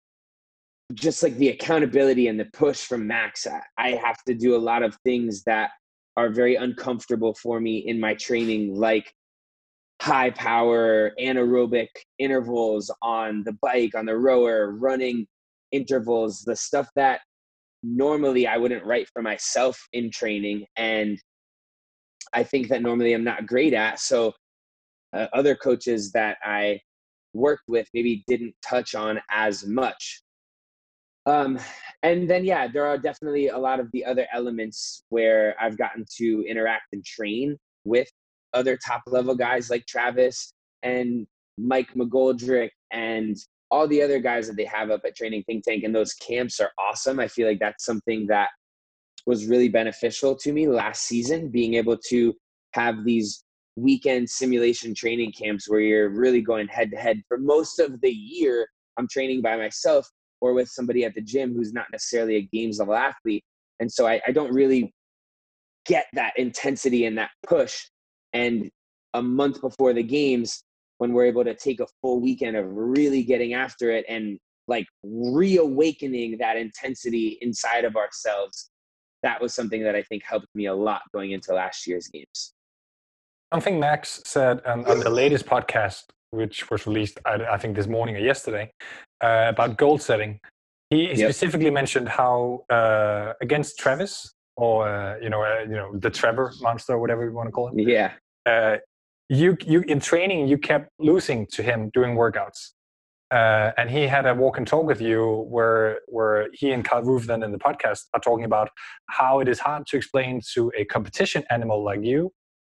just like the accountability and the push from Max. I have to do a lot of things that are very uncomfortable for me in my training, like high power anaerobic intervals on the bike, on the rower, running intervals, the stuff that normally I wouldn't write for myself in training. And I think that normally I'm not great at. So other coaches that I worked with maybe didn't touch on as much. And then, there are definitely a lot of the other elements where I've gotten to interact and train with other top level guys like Travis and Mike McGoldrick and all the other guys that they have up at Training Think Tank. And those camps are awesome. I feel like that's something that was really beneficial to me last season, being able to have these weekend simulation training camps where you're really going head to head. For most of the year, I'm training by myself or with somebody at the gym who's not necessarily a games level athlete. And so I don't really get that intensity and that push. And a month before the games, when we're able to take a full weekend of really getting after it and like reawakening that intensity inside of ourselves, that was something that I think helped me a lot going into last year's games. Something Max said on the latest podcast, which was released, I think this morning or yesterday, about goal setting. He specifically mentioned how against Travis, or the Trevor monster, or whatever you want to call him. Yeah. You in training, you kept losing to him during workouts. And he had a walk and talk with you where he and Carl Roof then in the podcast are talking about how it is hard to explain to a competition animal like you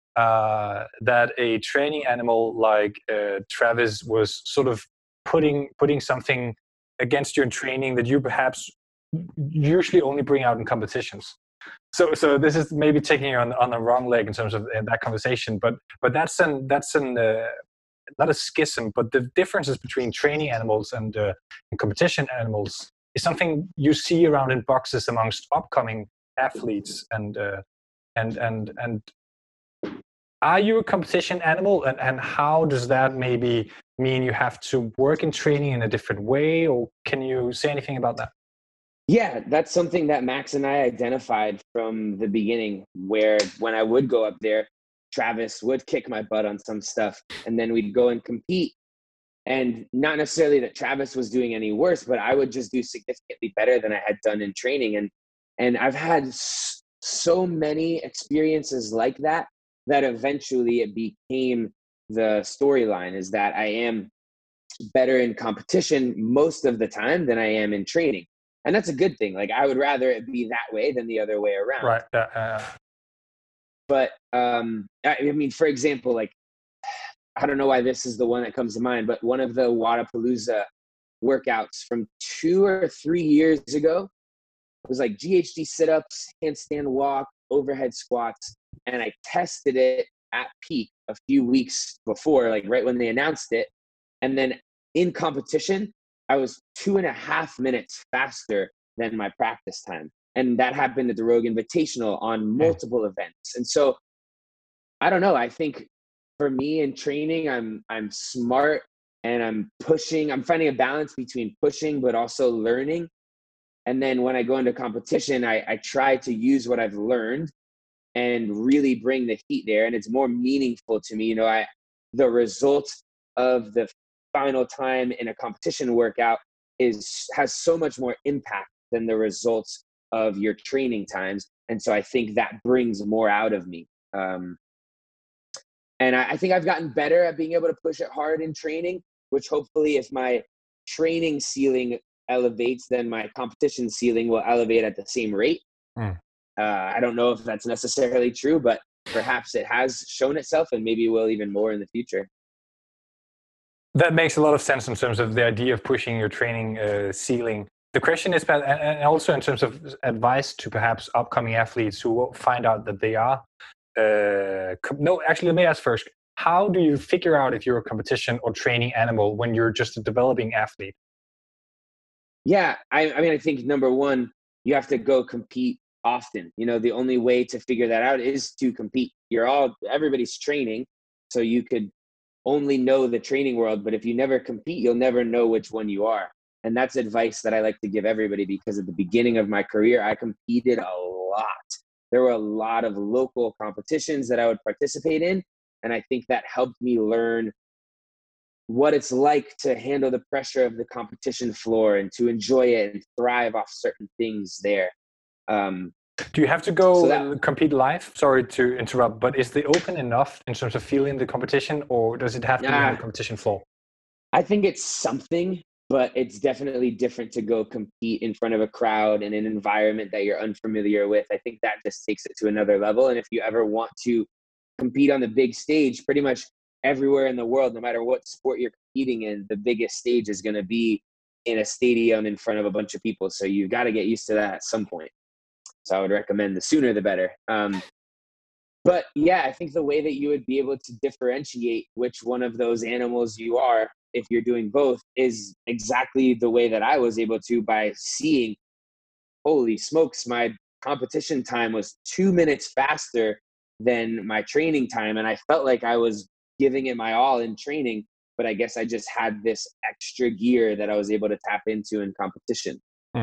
that a training animal like Travis was sort of putting something against you in training that you perhaps usually only bring out in competitions. So this is maybe taking you on the wrong leg in terms of that conversation, but that's not a schism, but the differences between training animals and competition animals is something you see around in boxes amongst upcoming athletes. And are you a competition animal, and how does that maybe mean you have to work in training in a different way, or can you say anything about that? Yeah, that's something that Max and I identified from the beginning, where when I would go up there, Travis would kick my butt on some stuff, and then we'd go and compete. And not necessarily that Travis was doing any worse, but I would just do significantly better than I had done in training. And I've had so many experiences like that eventually it became the storyline, is that I am better in competition most of the time than I am in training. And that's a good thing. Like, I would rather it be that way than the other way around. Right. But I mean, for example, like, I don't know why this is the one that comes to mind, but one of the Wodapalooza workouts from 2 or 3 years ago was like GHD sit-ups, handstand walk, overhead squats. And I tested it at peak a few weeks before, like right when they announced it. And then in competition, I was 2.5 minutes faster than my practice time. And that happened at the Rogue Invitational on multiple events. And so I don't know, I think for me in training, I'm smart and I'm pushing. I'm finding a balance between pushing but also learning. And then when I go into competition, I try to use what I've learned and really bring the heat there. And it's more meaningful to me. You know, the result of the final time in a competition workout has so much more impact than the results of your training times. And so I think that brings more out of me. And I think I've gotten better at being able to push it hard in training, which hopefully if my training ceiling elevates, then my competition ceiling will elevate at the same rate. I don't know if that's necessarily true, but perhaps it has shown itself, and maybe will even more in the future. That makes a lot of sense in terms of the idea of pushing your training ceiling. The question is, and also in terms of advice to perhaps upcoming athletes who find out that they are. No, actually, let me ask first. How do you figure out if you're a competition or training animal when you're just a developing athlete? Yeah, I mean, I think number one, you have to go compete often. You know, the only way to figure that out is to compete. Everybody's training, so you could only know the training world, but if you never compete, you'll never know which one you are. And that's advice that I like to give everybody, because at the beginning of my career, I competed a lot. There were a lot of local competitions that I would participate in, and I think that helped me learn what it's like to handle the pressure of the competition floor and to enjoy it and thrive off certain things there. Do you have to go compete live? Sorry to interrupt, but is the open enough in terms of feeling the competition, or does it have to be on the competition floor? I think it's something, but it's definitely different to go compete in front of a crowd in an environment that you're unfamiliar with. I think that just takes it to another level. And if you ever want to compete on the big stage, pretty much everywhere in the world, no matter what sport you're competing in, the biggest stage is going to be in a stadium in front of a bunch of people. So you've got to get used to that at some point. So I would recommend the sooner the better. But yeah, I think the way that you would be able to differentiate which one of those animals you are, if you're doing both, is exactly the way that I was able to, by seeing, holy smokes, my competition time was 2 minutes faster than my training time. And I felt like I was giving it my all in training, but I guess I just had this extra gear that I was able to tap into in competition.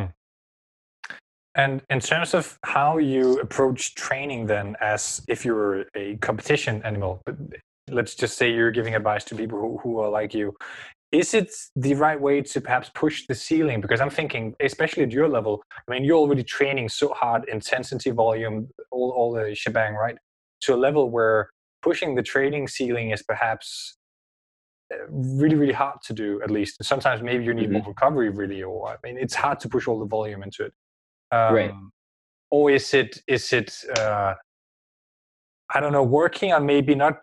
And in terms of how you approach training then, as if you're a competition animal, but let's just say you're giving advice to people who are like you, is it the right way to perhaps push the ceiling? Because I'm thinking, especially at your level, I mean, you're already training so hard, intensity, volume, all the shebang, right? To a level where pushing the training ceiling is perhaps really, really hard to do, at least. Sometimes maybe you need more recovery, really, or I mean, it's hard to push all the volume into it. Right. Or is it I don't know, working on maybe not,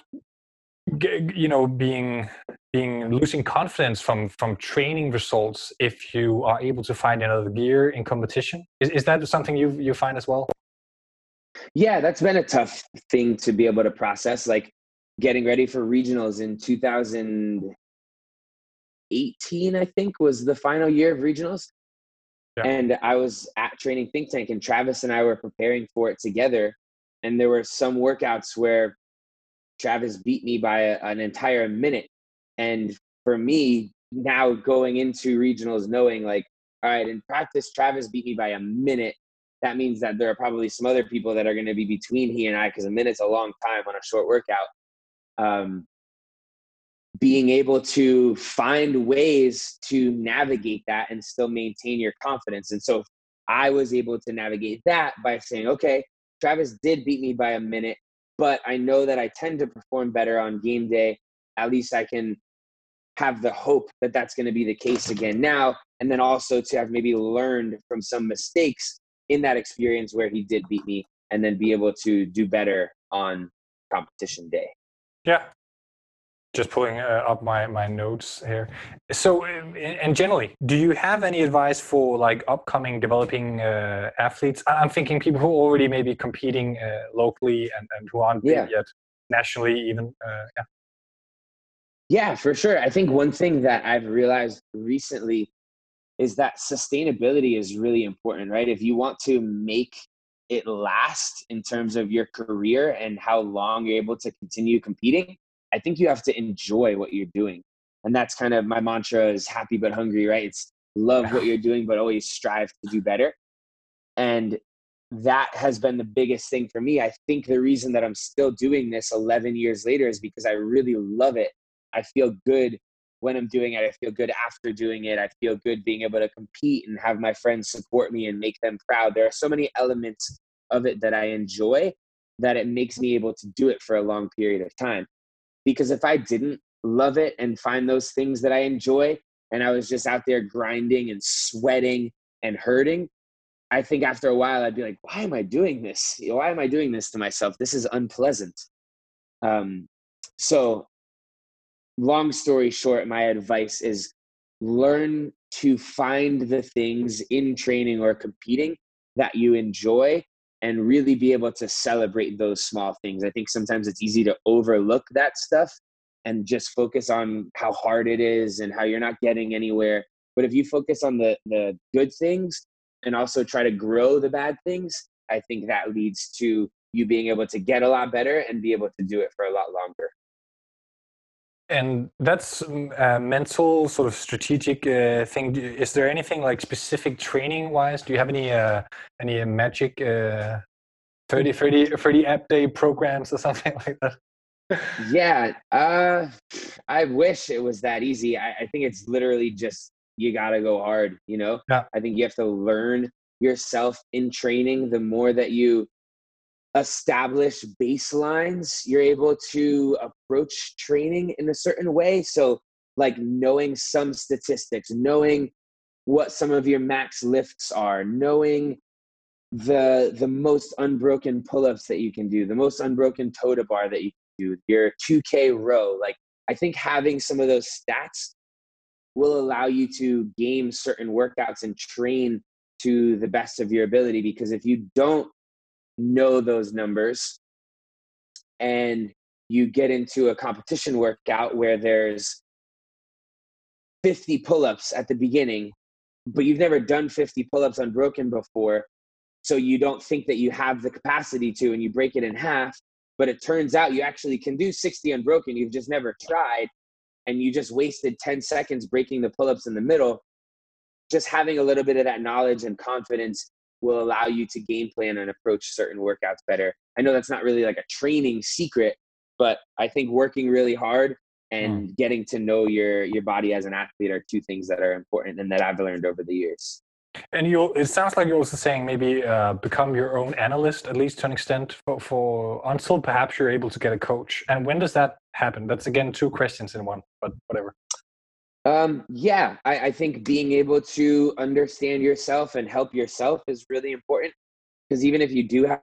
being losing confidence from training results if you are able to find another gear in competition? Is that something you find as well? Yeah, that's been a tough thing to be able to process. Like getting ready for regionals in 2018, I think, was the final year of regionals. Yeah. And I was at Training Think Tank, and Travis and I were preparing for it together. And there were some workouts where Travis beat me by an entire minute. And for me, now going into regionals, knowing like, all right, in practice, Travis beat me by a minute. That means that there are probably some other people that are going to be between he and I, because a minute's a long time on a short workout. being able to find ways to navigate that and still maintain your confidence. And so I was able to navigate that by saying, okay, Travis did beat me by a minute, but I know that I tend to perform better on game day. At least I can have the hope that that's going to be the case again now. And then also to have maybe learned from some mistakes in that experience where he did beat me, and then be able to do better on competition day. Yeah. Just pulling up my notes here. So, and generally, do you have any advice for like upcoming developing athletes? I'm thinking people who are already maybe competing locally and who aren't big yet nationally even. Yeah, for sure. I think one thing that I've realized recently is that sustainability is really important, right? If you want to make it last in terms of your career and how long you're able to continue competing, I think you have to enjoy what you're doing. And that's kind of my mantra is happy but hungry, right? It's love what you're doing, but always strive to do better. And that has been the biggest thing for me. I think the reason that I'm still doing this 11 years later is because I really love it. I feel good when I'm doing it. I feel good after doing it. I feel good being able to compete and have my friends support me and make them proud. There are so many elements of it that I enjoy that it makes me able to do it for a long period of time. Because if I didn't love it and find those things that I enjoy, and I was just out there grinding and sweating and hurting, I think after a while I'd be like, why am I doing this? Why am I doing this to myself? This is unpleasant. So long story short, my advice is learn to find the things in training or competing that you enjoy and really be able to celebrate those small things. I think sometimes it's easy to overlook that stuff and just focus on how hard it is and how you're not getting anywhere. But if you focus on the good things and also try to grow the bad things, I think that leads to you being able to get a lot better and be able to do it for a lot longer. And that's a mental sort of strategic thing. Is there anything like specific training wise? Do you have any magic 30 app day programs or something like that? Yeah, I wish it was that easy. I think it's literally just, you got to go hard, you know? Yeah. I think you have to learn yourself in training. The more that you establish baselines, you're able to approach training in a certain way. So like knowing some statistics, knowing what some of your max lifts are, knowing the most unbroken pull-ups that you can do, the most unbroken toe to bar that you can do, your 2K row. Like, I think having some of those stats will allow you to game certain workouts and train to the best of your ability. Because if you don't know those numbers and you get into a competition workout where there's 50 pull-ups at the beginning, but you've never done 50 pull-ups unbroken before, so you don't think that you have the capacity to, and you break it in half, but it turns out you actually can do 60 unbroken. You've just never tried, and you just wasted 10 seconds breaking the pull-ups in the middle. Just having a little bit of that knowledge and confidence will allow you to game plan and approach certain workouts better. I know that's not really like a training secret, but I think working really hard and getting to know your body as an athlete are two things that are important and that I've learned over the years. And it sounds like you're also saying maybe become your own analyst, at least to an extent, for until perhaps you're able to get a coach. And when does that happen? That's again 2 questions in one, but whatever. Yeah, I think being able to understand yourself and help yourself is really important, because even if you do have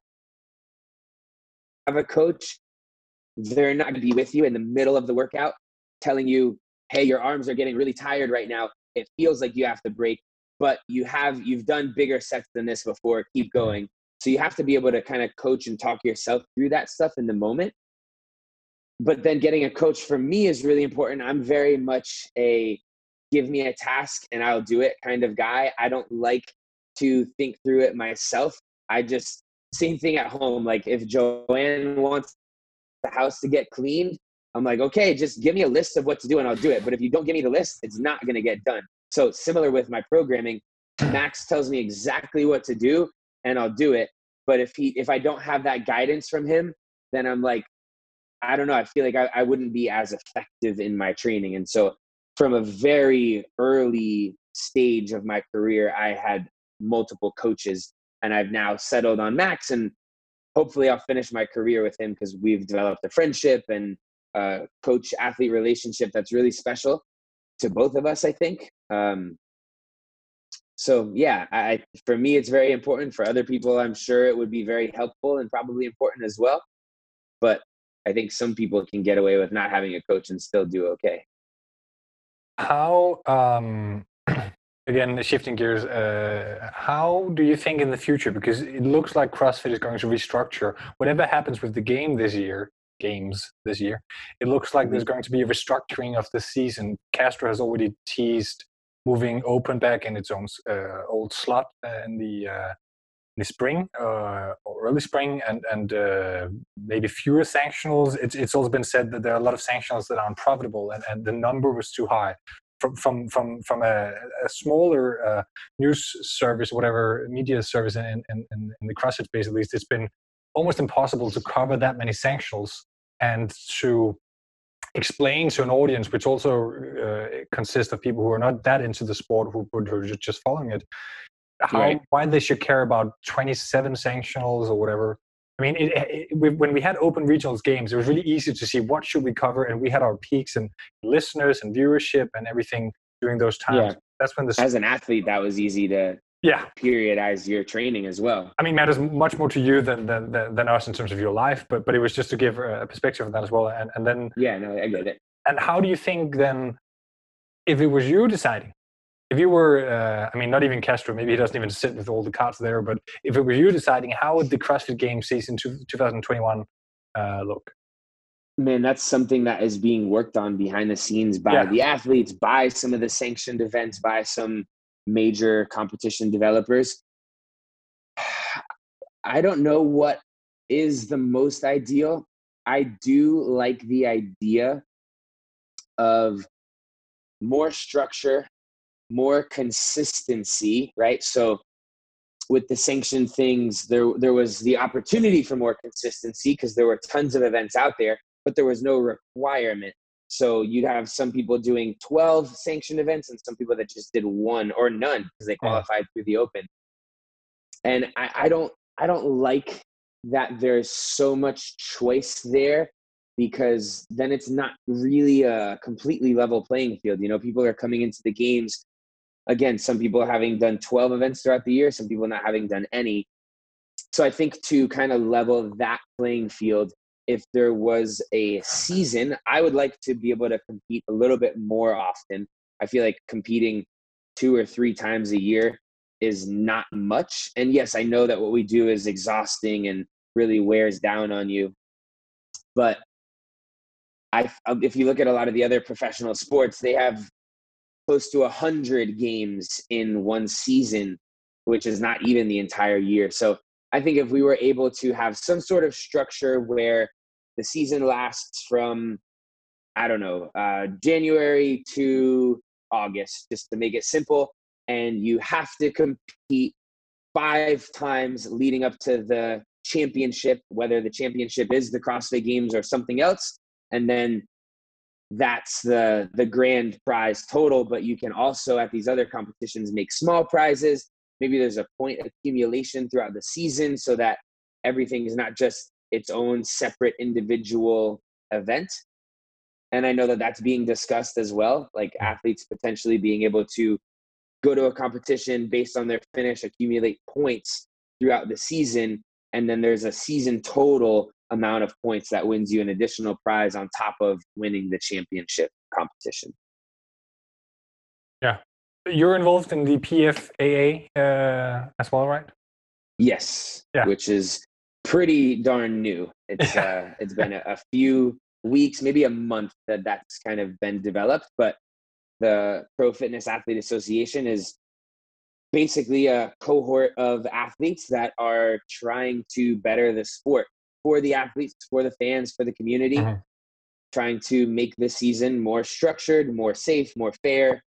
a coach, they're not going to be with you in the middle of the workout telling you, hey, your arms are getting really tired right now. It feels like you have to break, but you've done bigger sets than this before. Keep going. So you have to be able to kind of coach and talk yourself through that stuff in the moment. But then getting a coach for me is really important. I'm very much a give me a task and I'll do it kind of guy. I don't like to think through it myself. Same thing at home. Like if Joanne wants the house to get cleaned, I'm like, okay, just give me a list of what to do and I'll do it. But if you don't give me the list, it's not going to get done. So similar with my programming, Max tells me exactly what to do and I'll do it. But if I don't have that guidance from him, then I'm like, I don't know. I feel like I wouldn't be as effective in my training. And so from a very early stage of my career, I had multiple coaches, and I've now settled on Max, and hopefully I'll finish my career with him because we've developed a friendship and coach athlete relationship that's really special to both of us, I think. So yeah, for me, it's very important. For other people, I'm sure it would be very helpful and probably important as well. But I think some people can get away with not having a coach and still do okay. How, again, shifting gears, how do you think in the future, because it looks like CrossFit is going to restructure whatever happens with the games this year, it looks like there's going to be a restructuring of the season. Castro has already teased moving open back in its own old slot in the spring or early spring, and maybe fewer sanctionals. It's also been said that there are a lot of sanctionals that are unprofitable, and the number was too high. From a smaller news service, whatever media service in the CrossFit space, at least, it's been almost impossible to cover that many sanctionals and to explain to an audience, which also consists of people who are not that into the sport, who are just following it, why they should care about 27 sanctionals or whatever. I mean, when we had open regionals games, it was really easy to see what should we cover, and we had our peaks and listeners and viewership and everything during those times. Yeah. That's when as an athlete, that was easy to periodize your training as well. I mean, matters much more to you than us in terms of your life, but it was just to give a perspective of that as well. And then I get it. And how do you think then, if it was you deciding? If you were, I mean, not even Castro, maybe he doesn't even sit with all the cards there, but if it was you deciding, how would the CrossFit Games season 2021 look? Man, that's something that is being worked on behind the scenes by the athletes, by some of the sanctioned events, by some major competition developers. I don't know what is the most ideal. I do like the idea of more structure, more consistency, right? So with the sanctioned things, there was the opportunity for more consistency because there were tons of events out there, but there was no requirement. So you'd have some people doing 12 sanctioned events and some people that just did one or none because they qualified through the open. And I don't like that there's so much choice there, because then it's not really a completely level playing field. You know, people are coming into the games, again, some people having done 12 events throughout the year, some people not having done any. So I think to kind of level that playing field, if there was a season, I would like to be able to compete a little bit more often. I feel like competing 2 or 3 times a year is not much. And yes, I know that what we do is exhausting and really wears down on you. But if you look at a lot of the other professional sports, they have close to 100 games in one season, which is not even the entire year. So I think if we were able to have some sort of structure where the season lasts from, I don't know, January to August, just to make it simple, and you have to compete 5 times leading up to the championship, whether the championship is the CrossFit Games or something else, and then that's the grand prize total. But you can also at these other competitions make small prizes. Maybe there's a point accumulation throughout the season so that everything is not just its own separate individual event. And I know that that's being discussed as well, like athletes potentially being able to go to a competition based on their finish, accumulate points throughout the season, and then there's a season total amount of points that wins you an additional prize on top of winning the championship competition. Yeah. You're involved in the PFAA as well, right? Yes, which is pretty darn new. It's it's been a few weeks, maybe a month that's kind of been developed, but the Pro Fitness Athlete Association is basically a cohort of athletes that are trying to better the sport for the athletes, for the fans, for the community, trying to make the season more structured, more safe, more fair.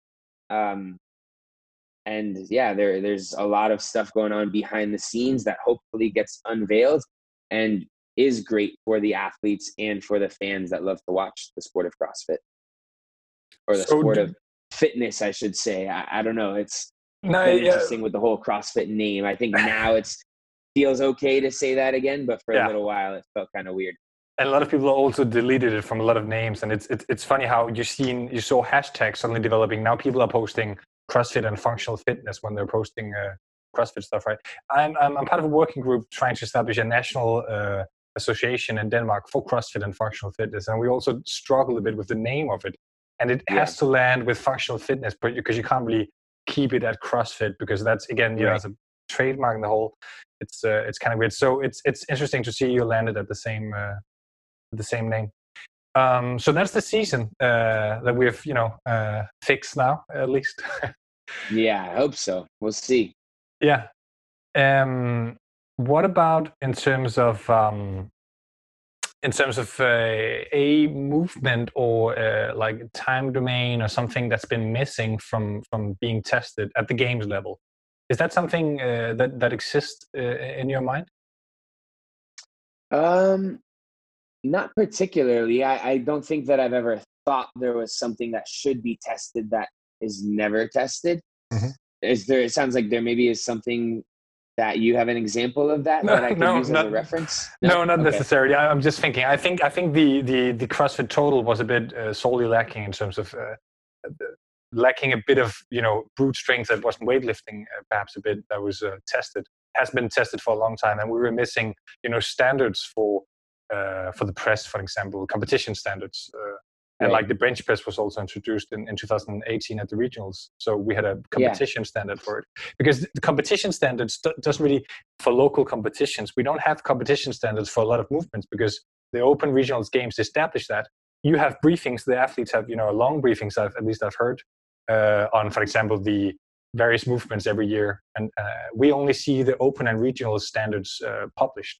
And there's a lot of stuff going on behind the scenes that hopefully gets unveiled. And is great for the athletes and for the fans that love to watch the sport of CrossFit, or the sport of fitness, I should say. I don't know. It's been interesting with the whole CrossFit name. I think now feels okay to say that again, but for a little while it felt kind of weird. And a lot of people also deleted it from a lot of names, and it's funny how you saw hashtags suddenly developing. Now people are posting CrossFit and functional fitness when they're posting CrossFit stuff, right? I'm part of a working group trying to establish a national association in Denmark for CrossFit and functional fitness, and we also struggle a bit with the name of it, and it has to land with functional fitness, but because you can't really keep it at CrossFit, because that's, again, you know, as a trademark in the whole, it's kind of weird. So it's interesting to see you landed at the same name. So that's the season that we've, you know, fixed now, at least. Yeah, I hope so. We'll see. Yeah. What about in terms of a movement or like time domain or something that's been missing from being tested at the games level? Is that something that exists in your mind? Not particularly. I don't think that I've ever thought there was something that should be tested that is never tested. Mm-hmm. It sounds like there maybe is something that you have an example of that I could use as a reference? No, not necessarily. I'm just thinking. I think the CrossFit Total was a bit sorely lacking in terms of lacking a bit of, you know, brute strength that wasn't weightlifting, perhaps a bit that was has been tested for a long time, and we were missing, you know, standards for the press, for example, competition standards. And like the bench press was also introduced in 2018 at the regionals. So we had a competition standard for it. Because the competition standards doesn't really, for local competitions, we don't have competition standards for a lot of movements, because the Open Regionals Games established that. You have briefings, the athletes have, you know, long briefings, at least I've heard, on, for example, the various movements every year. And we only see the Open and Regional standards published.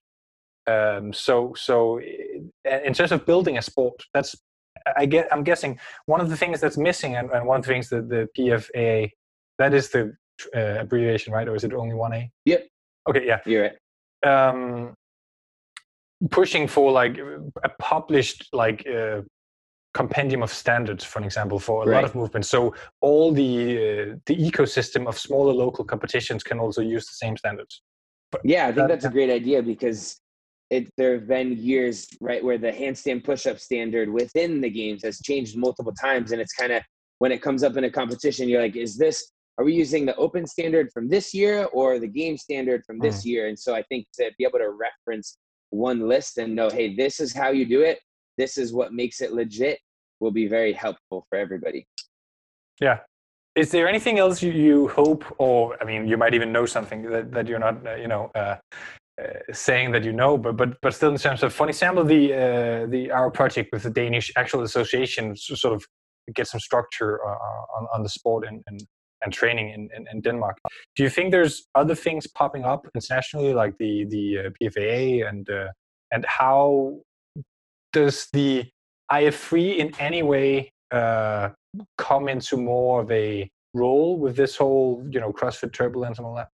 So in terms of building a sport, that's, I'm guessing one of the things that's missing, and one of the things that the PFAA, that is the abbreviation, right? Or is it only one A? Yep. Okay, yeah. You're right. Pushing for like a published like compendium of standards, for example, for a lot of movements. So all the ecosystem of smaller local competitions can also use the same standards. But, I think that's a great idea, because there have been years, right, where the handstand push-up standard within the games has changed multiple times, and it's kind of, when it comes up in a competition, you're like, are we using the Open standard from this year or the game standard from this year? And so I think to be able to reference one list and know, hey, this is how you do it, this is what makes it legit, will be very helpful for everybody. Yeah. Is there anything else you hope, or I mean, you might even know something that you're not, saying that you know, but still, in terms of, for example, our project with the Danish actual association, to sort of get some structure on the sport and training in Denmark. Do you think there's other things popping up internationally, like the PFAA, and how does the IF3 in any way come into more of a role with this whole, you know, CrossFit turbulence and all that?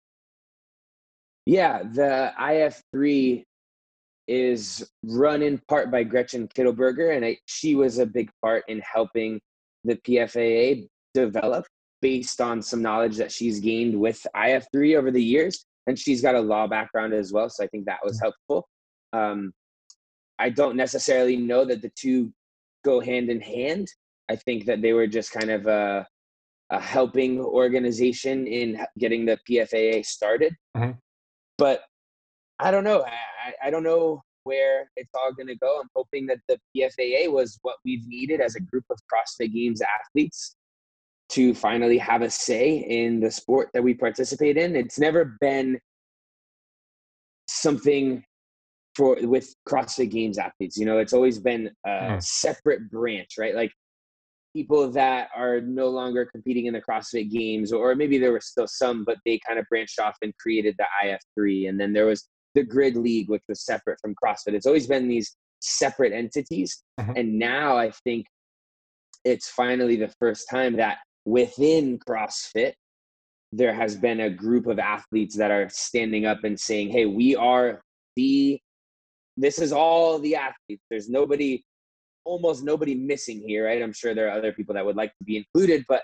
Yeah, the IF3 is run in part by Gretchen Kittelberger, and she was a big part in helping the PFAA develop based on some knowledge that she's gained with IF3 over the years. And she's got a law background as well, so I think that was helpful. I don't necessarily know that the two go hand in hand. I think that they were just kind of a helping organization in getting the PFAA started. Mm-hmm. But I don't know. I don't know where it's all going to go. I'm hoping that the PFAA was what we've needed as a group of CrossFit Games athletes to finally have a say in the sport that we participate in. It's never been something with CrossFit Games athletes. You know, it's always been a separate branch, right? Like people that are no longer competing in the CrossFit Games, or maybe there were still some, but they kind of branched off and created the IF3. And then there was the Grid League, which was separate from CrossFit. It's always been these separate entities. Mm-hmm. And now I think it's finally the first time that within CrossFit, there has been a group of athletes that are standing up and saying, hey, we are the this is all the athletes. There's almost nobody missing here, right? I'm sure there are other people that would like to be included, but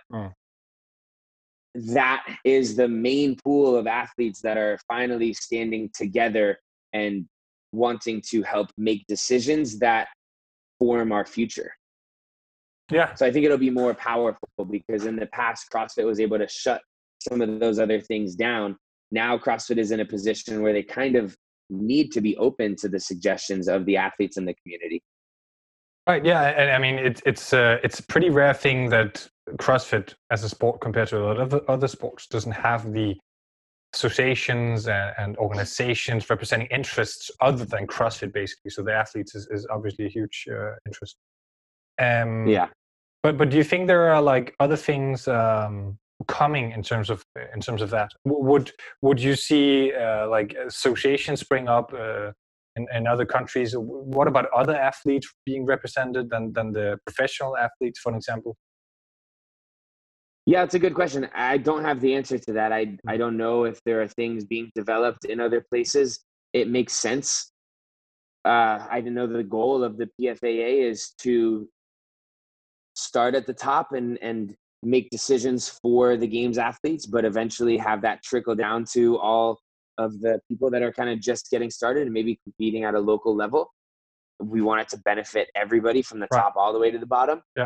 that is the main pool of athletes that are finally standing together and wanting to help make decisions that form our future. Yeah. So I think it'll be more powerful, because in the past, CrossFit was able to shut some of those other things down. Now CrossFit is in a position where they kind of need to be open to the suggestions of the athletes in the community. Right. Yeah. And I mean, it's a pretty rare thing that CrossFit as a sport compared to a lot of other sports doesn't have the associations and organizations representing interests other than CrossFit, basically. So the athletes is obviously a huge interest. Yeah. But do you think there are like other things coming in terms of that? Would you see like associations spring up in other countries? What about other athletes being represented than the professional athletes, for example? Yeah, it's a good question. I don't have the answer to that. I don't know if there are things being developed in other places. It makes sense. I know the goal of the PFAA is to start at the top and make decisions for the games athletes, but eventually have that trickle down to all of the people that are kind of just getting started and maybe competing at a local level. We want it to benefit everybody from the top all the way to the bottom. Yeah.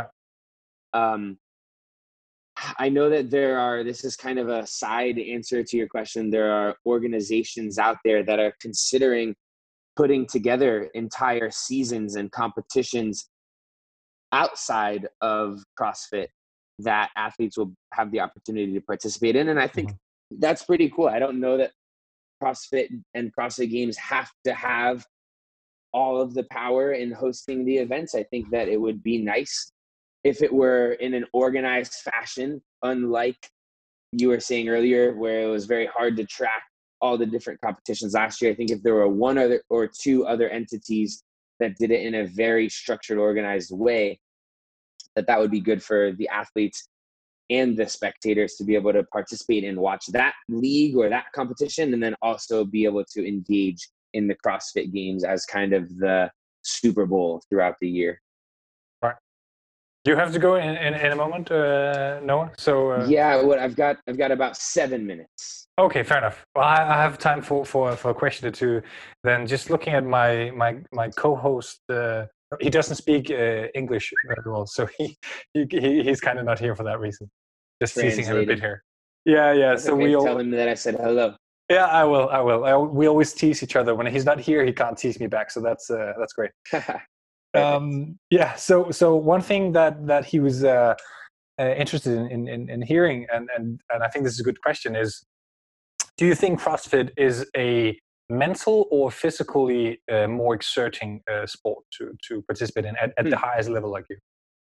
I know that this is kind of a side answer to your question. There are organizations out there that are considering putting together entire seasons and competitions outside of CrossFit that athletes will have the opportunity to participate in. And I think that's pretty cool. I don't know that CrossFit and CrossFit Games have to have all of the power in hosting the events. I think that it would be nice if it were in an organized fashion, unlike you were saying earlier, where it was very hard to track all the different competitions last year. I think if there were one other or two other entities that did it in a very structured, organized way, that would be good for the athletes and the spectators to be able to participate and watch that league or that competition, and then also be able to engage in the CrossFit Games as kind of the Super Bowl throughout the year. Right. You have to go in a moment, Noah. So yeah, I've got about 7 minutes. Okay, fair enough. Well, I have time for a question or two. Then, just looking at my co-host, he doesn't speak English very well, so he's kind of not here for that reason. Just teasing him a bit here. Yeah. So we tell him that I said hello. Yeah, I will. We always tease each other. When he's not here, he can't tease me back. So that's great. Yeah. So one thing that he was interested in hearing, and I think this is a good question, is, do you think CrossFit is a mental or physically more exerting sport to participate in at the highest level like you?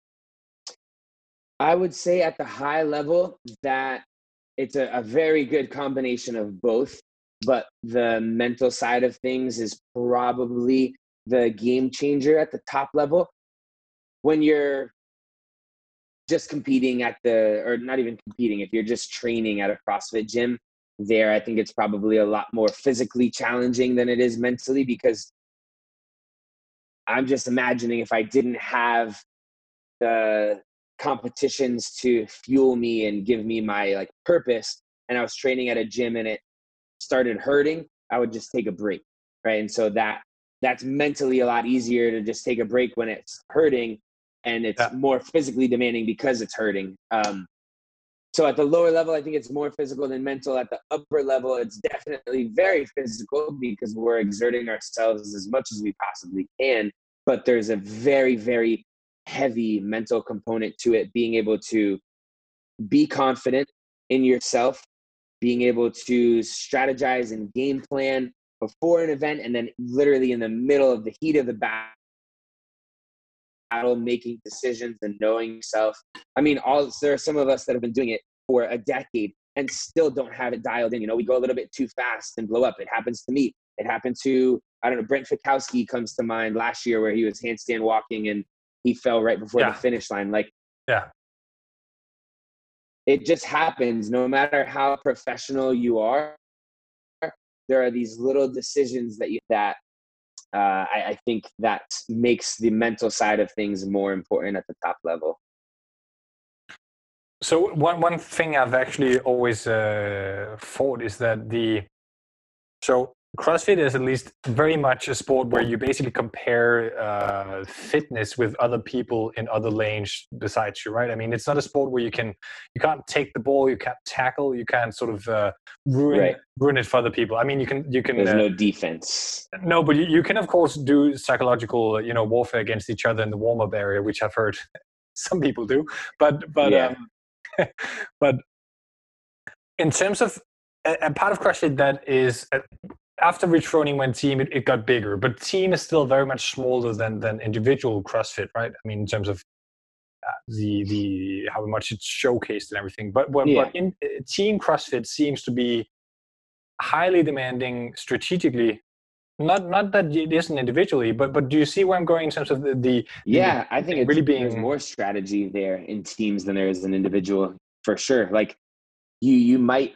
I would say at the high level that it's a very good combination of both, but the mental side of things is probably the game changer at the top level. When you're just competing or not even competing, if you're just training at a CrossFit gym, I think it's probably a lot more physically challenging than it is mentally, because I'm just imagining if I didn't have the competitions to fuel me and give me my purpose, and I was training at a gym and it started hurting, I would just take a break, right? And so that's mentally a lot easier to just take a break when it's hurting, and it's more physically demanding because it's hurting. So at the lower level, I think it's more physical than mental. At the upper level, it's definitely very physical because we're exerting ourselves as much as we possibly can. But there's a very, very heavy mental component to it, being able to be confident in yourself, being able to strategize and game plan before an event, and then literally in the middle of the heat of the battle, making decisions and knowing yourself. I mean, there are some of us that have been doing it for a decade and still don't have it dialed in. We go a little bit too fast and blow up. It happens to me. It happened to, Brent Fikowski comes to mind last year, where he was handstand walking and he fell right before the finish line. It just happens. No matter how professional you are, there are these little decisions that I think that makes the mental side of things more important at the top level. So one thing I've actually always thought is that CrossFit is at least very much a sport where you basically compare fitness with other people in other lanes besides you, right? I mean, it's not a sport where you can't take the ball, you can't tackle, you can't sort of ruin it for other people. I mean, you can. There's no defense. No, but you can of course do psychological, warfare against each other in the warm-up area, which I've heard some people do. But yeah. But in terms of a part of CrossFit that is. After Rich Froning went team, it got bigger, but team is still very much smaller than individual CrossFit, right? I mean, in terms of the how much it's showcased and everything. But in team CrossFit seems to be highly demanding strategically. Not that it isn't individually, but do you see where I'm going in terms of the I think it's really there's more strategy there in teams than there is an individual, for sure. Like you might.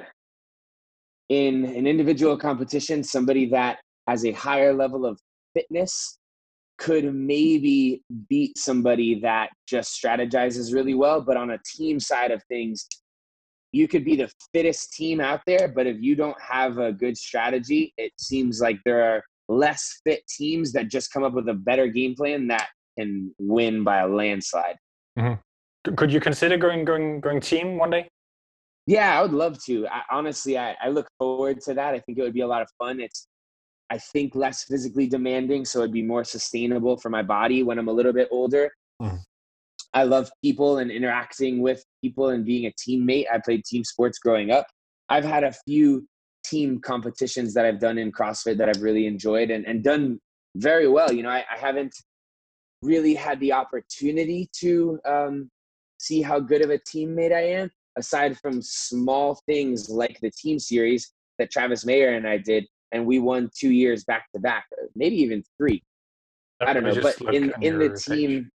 In an individual competition, somebody that has a higher level of fitness could maybe beat somebody that just strategizes really well. But on a team side of things, you could be the fittest team out there, but if you don't have a good strategy, it seems like there are less fit teams that just come up with a better game plan that can win by a landslide. Mm-hmm. Could you consider going team one day? Yeah, I would love to. Honestly, I look forward to that. I think it would be a lot of fun. It's, I think, less physically demanding, so it'd be more sustainable for my body when I'm a little bit older. Mm. I love people and interacting with people and being a teammate. I played team sports growing up. I've had a few team competitions that I've done in CrossFit that I've really enjoyed and done very well. I haven't really had the opportunity to see how good of a teammate I am, aside from small things like the team series that Travis Mayer and I did, and we won 2 years back to back, maybe even 3. I don't know, but in the team,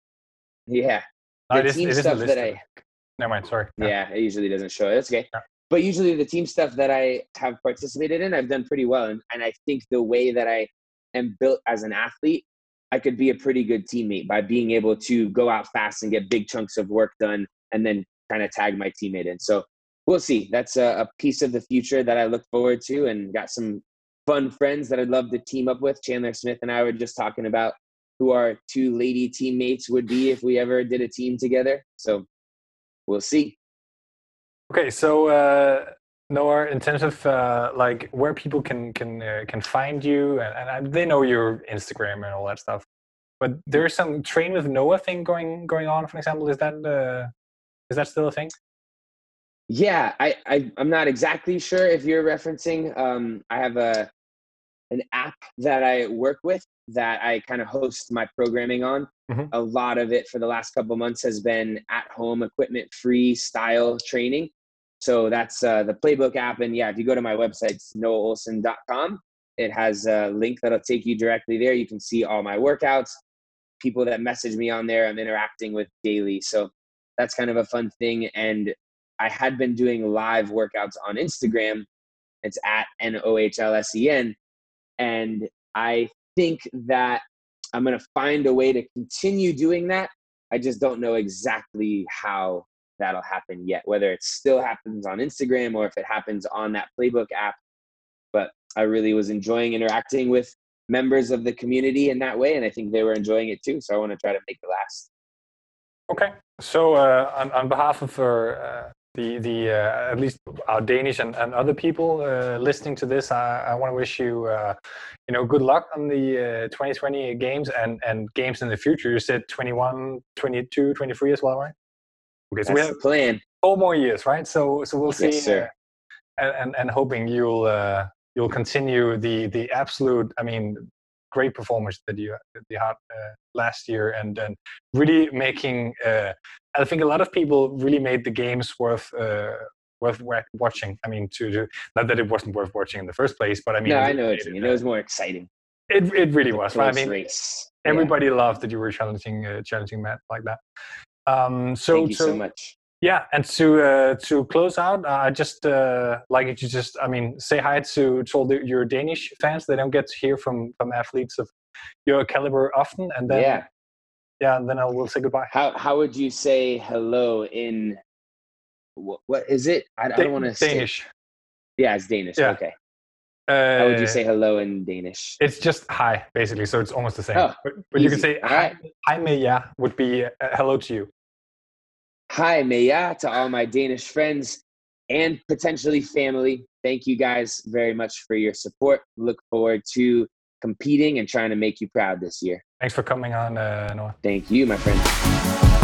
team stuff that I. Never mind, sorry. Yeah, it usually doesn't show. That's okay. Yeah. But usually the team stuff that I have participated in, I've done pretty well, and I think the way that I am built as an athlete, I could be a pretty good teammate by being able to go out fast and get big chunks of work done, and then kind of tag my teammate in. So we'll see. That's a piece of the future that I look forward to, and got some fun friends that I'd love to team up with. Chandler Smith and I were just talking about who our 2 lady teammates would be if we ever did a team together. So we'll see. Okay, so Noah, in terms of like where people can find you, and they know your Instagram and all that stuff, but there's some Train with Noah thing going on, for example. Is that still a thing? Yeah, I'm not exactly sure if you're referencing. I have an app that I work with that I kind of host my programming on. Mm-hmm. A lot of it for the last couple of months has been at-home equipment-free style training. So that's the Playbook app. And yeah, if you go to my website, it's noaholson.com, it has a link that'll take you directly there. You can see all my workouts. People that message me on there, I'm interacting with daily. So that's kind of a fun thing. And I had been doing live workouts on Instagram. It's at NOHLSEN. And I think that I'm going to find a way to continue doing that. I just don't know exactly how that'll happen yet, whether it still happens on Instagram or if it happens on that Playbook app. But I really was enjoying interacting with members of the community in that way, and I think they were enjoying it too. So I want to try to make it last. Okay. So on behalf of the at least our Danish and other people listening to this, I want to wish you good luck on the 2020 games and games in the future. You said 21, 22, 23 as well, right? Okay, so that's we have the plan. 4 more years, right? So we'll see. Yes, sir. And hoping you'll continue the absolute, great performance that you had last year, and really making. I think a lot of people really made the games worth watching. To not that it wasn't worth watching in the first place, but no, I know what you mean. It was more exciting. It really was. Right? Race. Everybody loved that you were challenging Matt like that. Thank you so much. Yeah, and to close out, I just like you to say hi to all your Danish fans. They don't get to hear from athletes of your caliber often, and then and then I will say goodbye. How would you say hello in what is it? I don't want to say Danish. Yeah, it's Danish. Yeah. Okay. How would you say hello in Danish? It's just hi, basically. So it's almost the same. Oh, but you can say hi med jer would be hello to you. Hi med jer to all my Danish friends and potentially family. Thank you guys very much for your support. Look forward to competing and trying to make you proud this year. Thanks for coming on, Noah. Thank you, my friend.